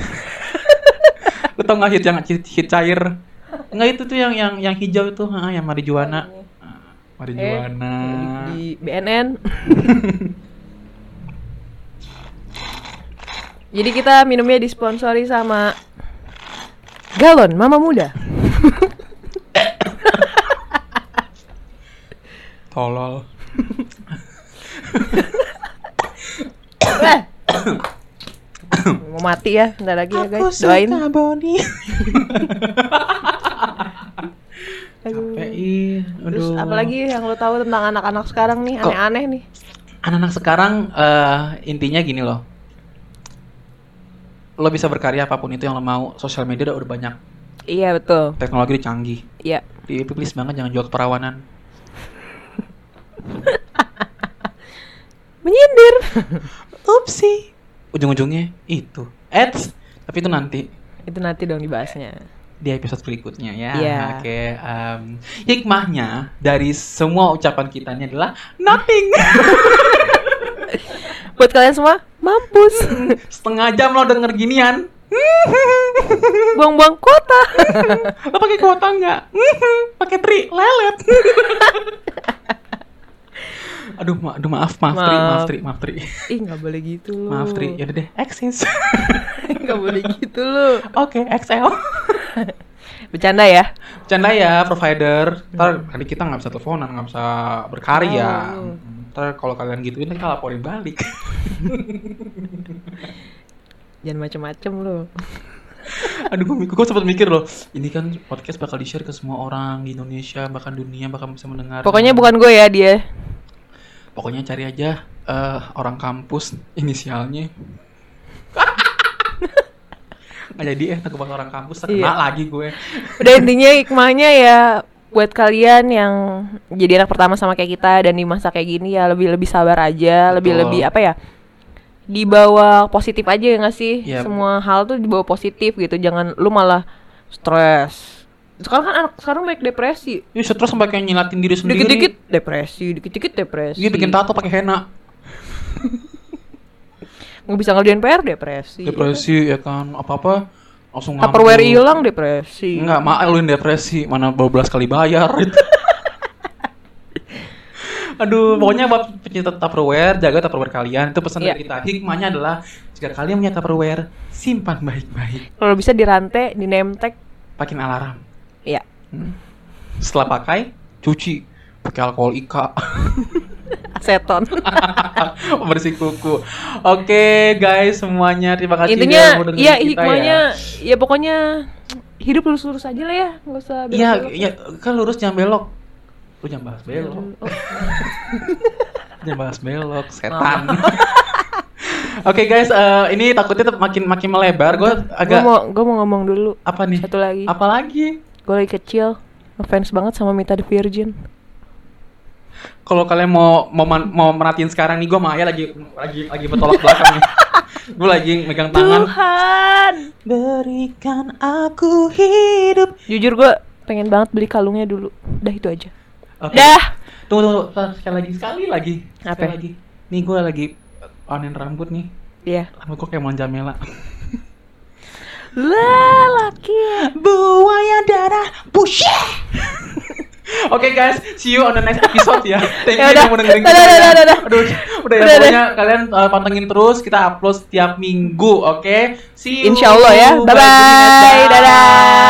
Speaker 2: Lo tau nggak hit yang hit, hit cair? Enggak, itu tuh yang yang yang hijau itu, ha, yang marijuana. Marijuana.
Speaker 1: Eh, di, di B N N. Jadi kita minumnya disponsori sama Galon Mama Muda.
Speaker 2: Tolol.
Speaker 1: Mau mati ya, bentar lagi ya guys. Doain.
Speaker 2: Capek ih.
Speaker 1: Terus apalagi yang lo tahu tentang anak-anak sekarang nih,
Speaker 2: Kok,
Speaker 1: aneh-aneh nih.
Speaker 2: Anak-anak sekarang uh, intinya gini loh. Lo bisa berkarya apapun itu yang lo mau. Sosial media udah, udah banyak.
Speaker 1: Iya betul.
Speaker 2: Teknologi udah canggih.
Speaker 1: Iya.
Speaker 2: Please banget jangan jual keperawanan.
Speaker 1: Menyindir.
Speaker 2: Upsi. Ujung-ujungnya itu ads. Tapi itu nanti.
Speaker 1: Itu nanti dong dibahasnya.
Speaker 2: Di episode berikutnya ya.
Speaker 1: Iya.
Speaker 2: Oke. Um, hikmahnya dari semua ucapan kita ini adalah nothing.
Speaker 1: Buat kalian semua, mampus.
Speaker 2: Setengah jam lo denger ginian.
Speaker 1: Buang-buang kuota.
Speaker 2: Lo pakai kuota nggak? Pakai tri lelet. Aduh, ma- aduh maaf, maaf, maaf. Tri, maaf Tri, maaf Tri.
Speaker 1: Ih nggak boleh gitu loh.
Speaker 2: Maaf Tri, yaudah deh, eksis.
Speaker 1: Nggak boleh gitu loh.
Speaker 2: Oke, X L.
Speaker 1: Bercanda ya.
Speaker 2: Bercanda ya, provider. Ntar kali kita nggak bisa teleponan, nggak bisa berkarya.
Speaker 1: Oh.
Speaker 2: Ntar kalau kalian gituin, kita laporin balik.
Speaker 1: Jangan macem-macem loh.
Speaker 2: Aduh, gue, gue sempat mikir loh, ini kan podcast bakal di-share ke semua orang di Indonesia, bahkan dunia bakal bisa mendengar.
Speaker 1: Pokoknya bukan gue ya dia.
Speaker 2: Pokoknya cari aja uh, orang kampus inisialnya. Nggak jadi eh, takut orang kampus, terkena
Speaker 1: Iya.
Speaker 2: lagi gue.
Speaker 1: Udah intinya hikmahnya ya buat kalian yang jadi anak pertama sama kayak kita dan di masa kayak gini ya lebih lebih sabar aja, lebih lebih apa ya? Dibawa positif aja ya nggak sih?
Speaker 2: Yep.
Speaker 1: Semua hal tuh dibawa positif gitu, jangan lu malah stres. Sekarang kan anak sekarang banyak depresi.
Speaker 2: Ih, stres sampai kayak nyilatin diri sendiri.
Speaker 1: Dikit-dikit depresi, dikit-dikit depresi.
Speaker 2: Iya, bikin tato pakai henna.
Speaker 1: Nggak bisa ngerjain P R depresi.
Speaker 2: Depresi ya kan, apa-apa langsung ngambil.
Speaker 1: Tupperware hilang depresi.
Speaker 2: Enggak, mak lu yang depresi, mana dua belas kali bayar. Aduh, pokoknya buat pencinta Tupperware, jaga Tupperware kalian. Itu pesan
Speaker 1: Iya.
Speaker 2: dari kita. Hikmahnya adalah jika kalian punya Tupperware, simpan baik-baik.
Speaker 1: Kalau bisa dirantai, di name tag.
Speaker 2: Pakai alarm.
Speaker 1: Iya.
Speaker 2: Hmm. Setelah pakai, cuci pakai alkohol Ika.
Speaker 1: Aseton.
Speaker 2: Bersih kuku. Oke, guys, semuanya terima kasih
Speaker 1: Intinya
Speaker 2: udah mau dengerin
Speaker 1: iya
Speaker 2: kita
Speaker 1: hikmahnya
Speaker 2: ya.
Speaker 1: ya pokoknya hidup lurus-lurus aja lah ya, nggak usah
Speaker 2: Iya,
Speaker 1: belok-belok.
Speaker 2: iya, kan lurus jangan belok. Lu jangan bahas belok.
Speaker 1: Oh.
Speaker 2: Jangan bahas belok, setan. Oke guys, uh, ini takutnya tetap makin makin melebar. Gue agak.
Speaker 1: Gue mau gue mau ngomong dulu.
Speaker 2: Apa nih?
Speaker 1: Satu lagi.
Speaker 2: Apa lagi?
Speaker 1: Gue lagi kecil ngefans banget sama Mita the Virgin.
Speaker 2: kalau kalian mau mau man- mau merhatiin sekarang nih, gue sama Ayah lagi lagi lagi bertolak belakang nih. Gue lagi megang tangan.
Speaker 1: Tuhan,
Speaker 2: Berikan aku hidup.
Speaker 1: jujur gue pengen banget beli kalungnya dulu. Udah itu aja.
Speaker 2: Oke.
Speaker 1: Dah.
Speaker 2: Tunggu, tunggu, sekali lagi, sekali lagi.
Speaker 1: Apa?
Speaker 2: Sekali lagi. Nih gue lagi onin rambut nih.
Speaker 1: Iya.
Speaker 2: Rambut gue kayak Mulan Jamela.
Speaker 1: Lelaki.
Speaker 2: Buaya darah bullshit. Oke guys, see you on the next episode ya. Thank you
Speaker 1: Ya udah.
Speaker 2: yang mau dengerin
Speaker 1: Udah,
Speaker 2: kita.
Speaker 1: udah,
Speaker 2: ya.
Speaker 1: udah, udah.
Speaker 2: Aduh, udah ya
Speaker 1: Udah,
Speaker 2: pokoknya kalian uh, pantengin terus, kita upload setiap minggu, oke? See you.
Speaker 1: Insya Allah ya. Bye bye. Dadah.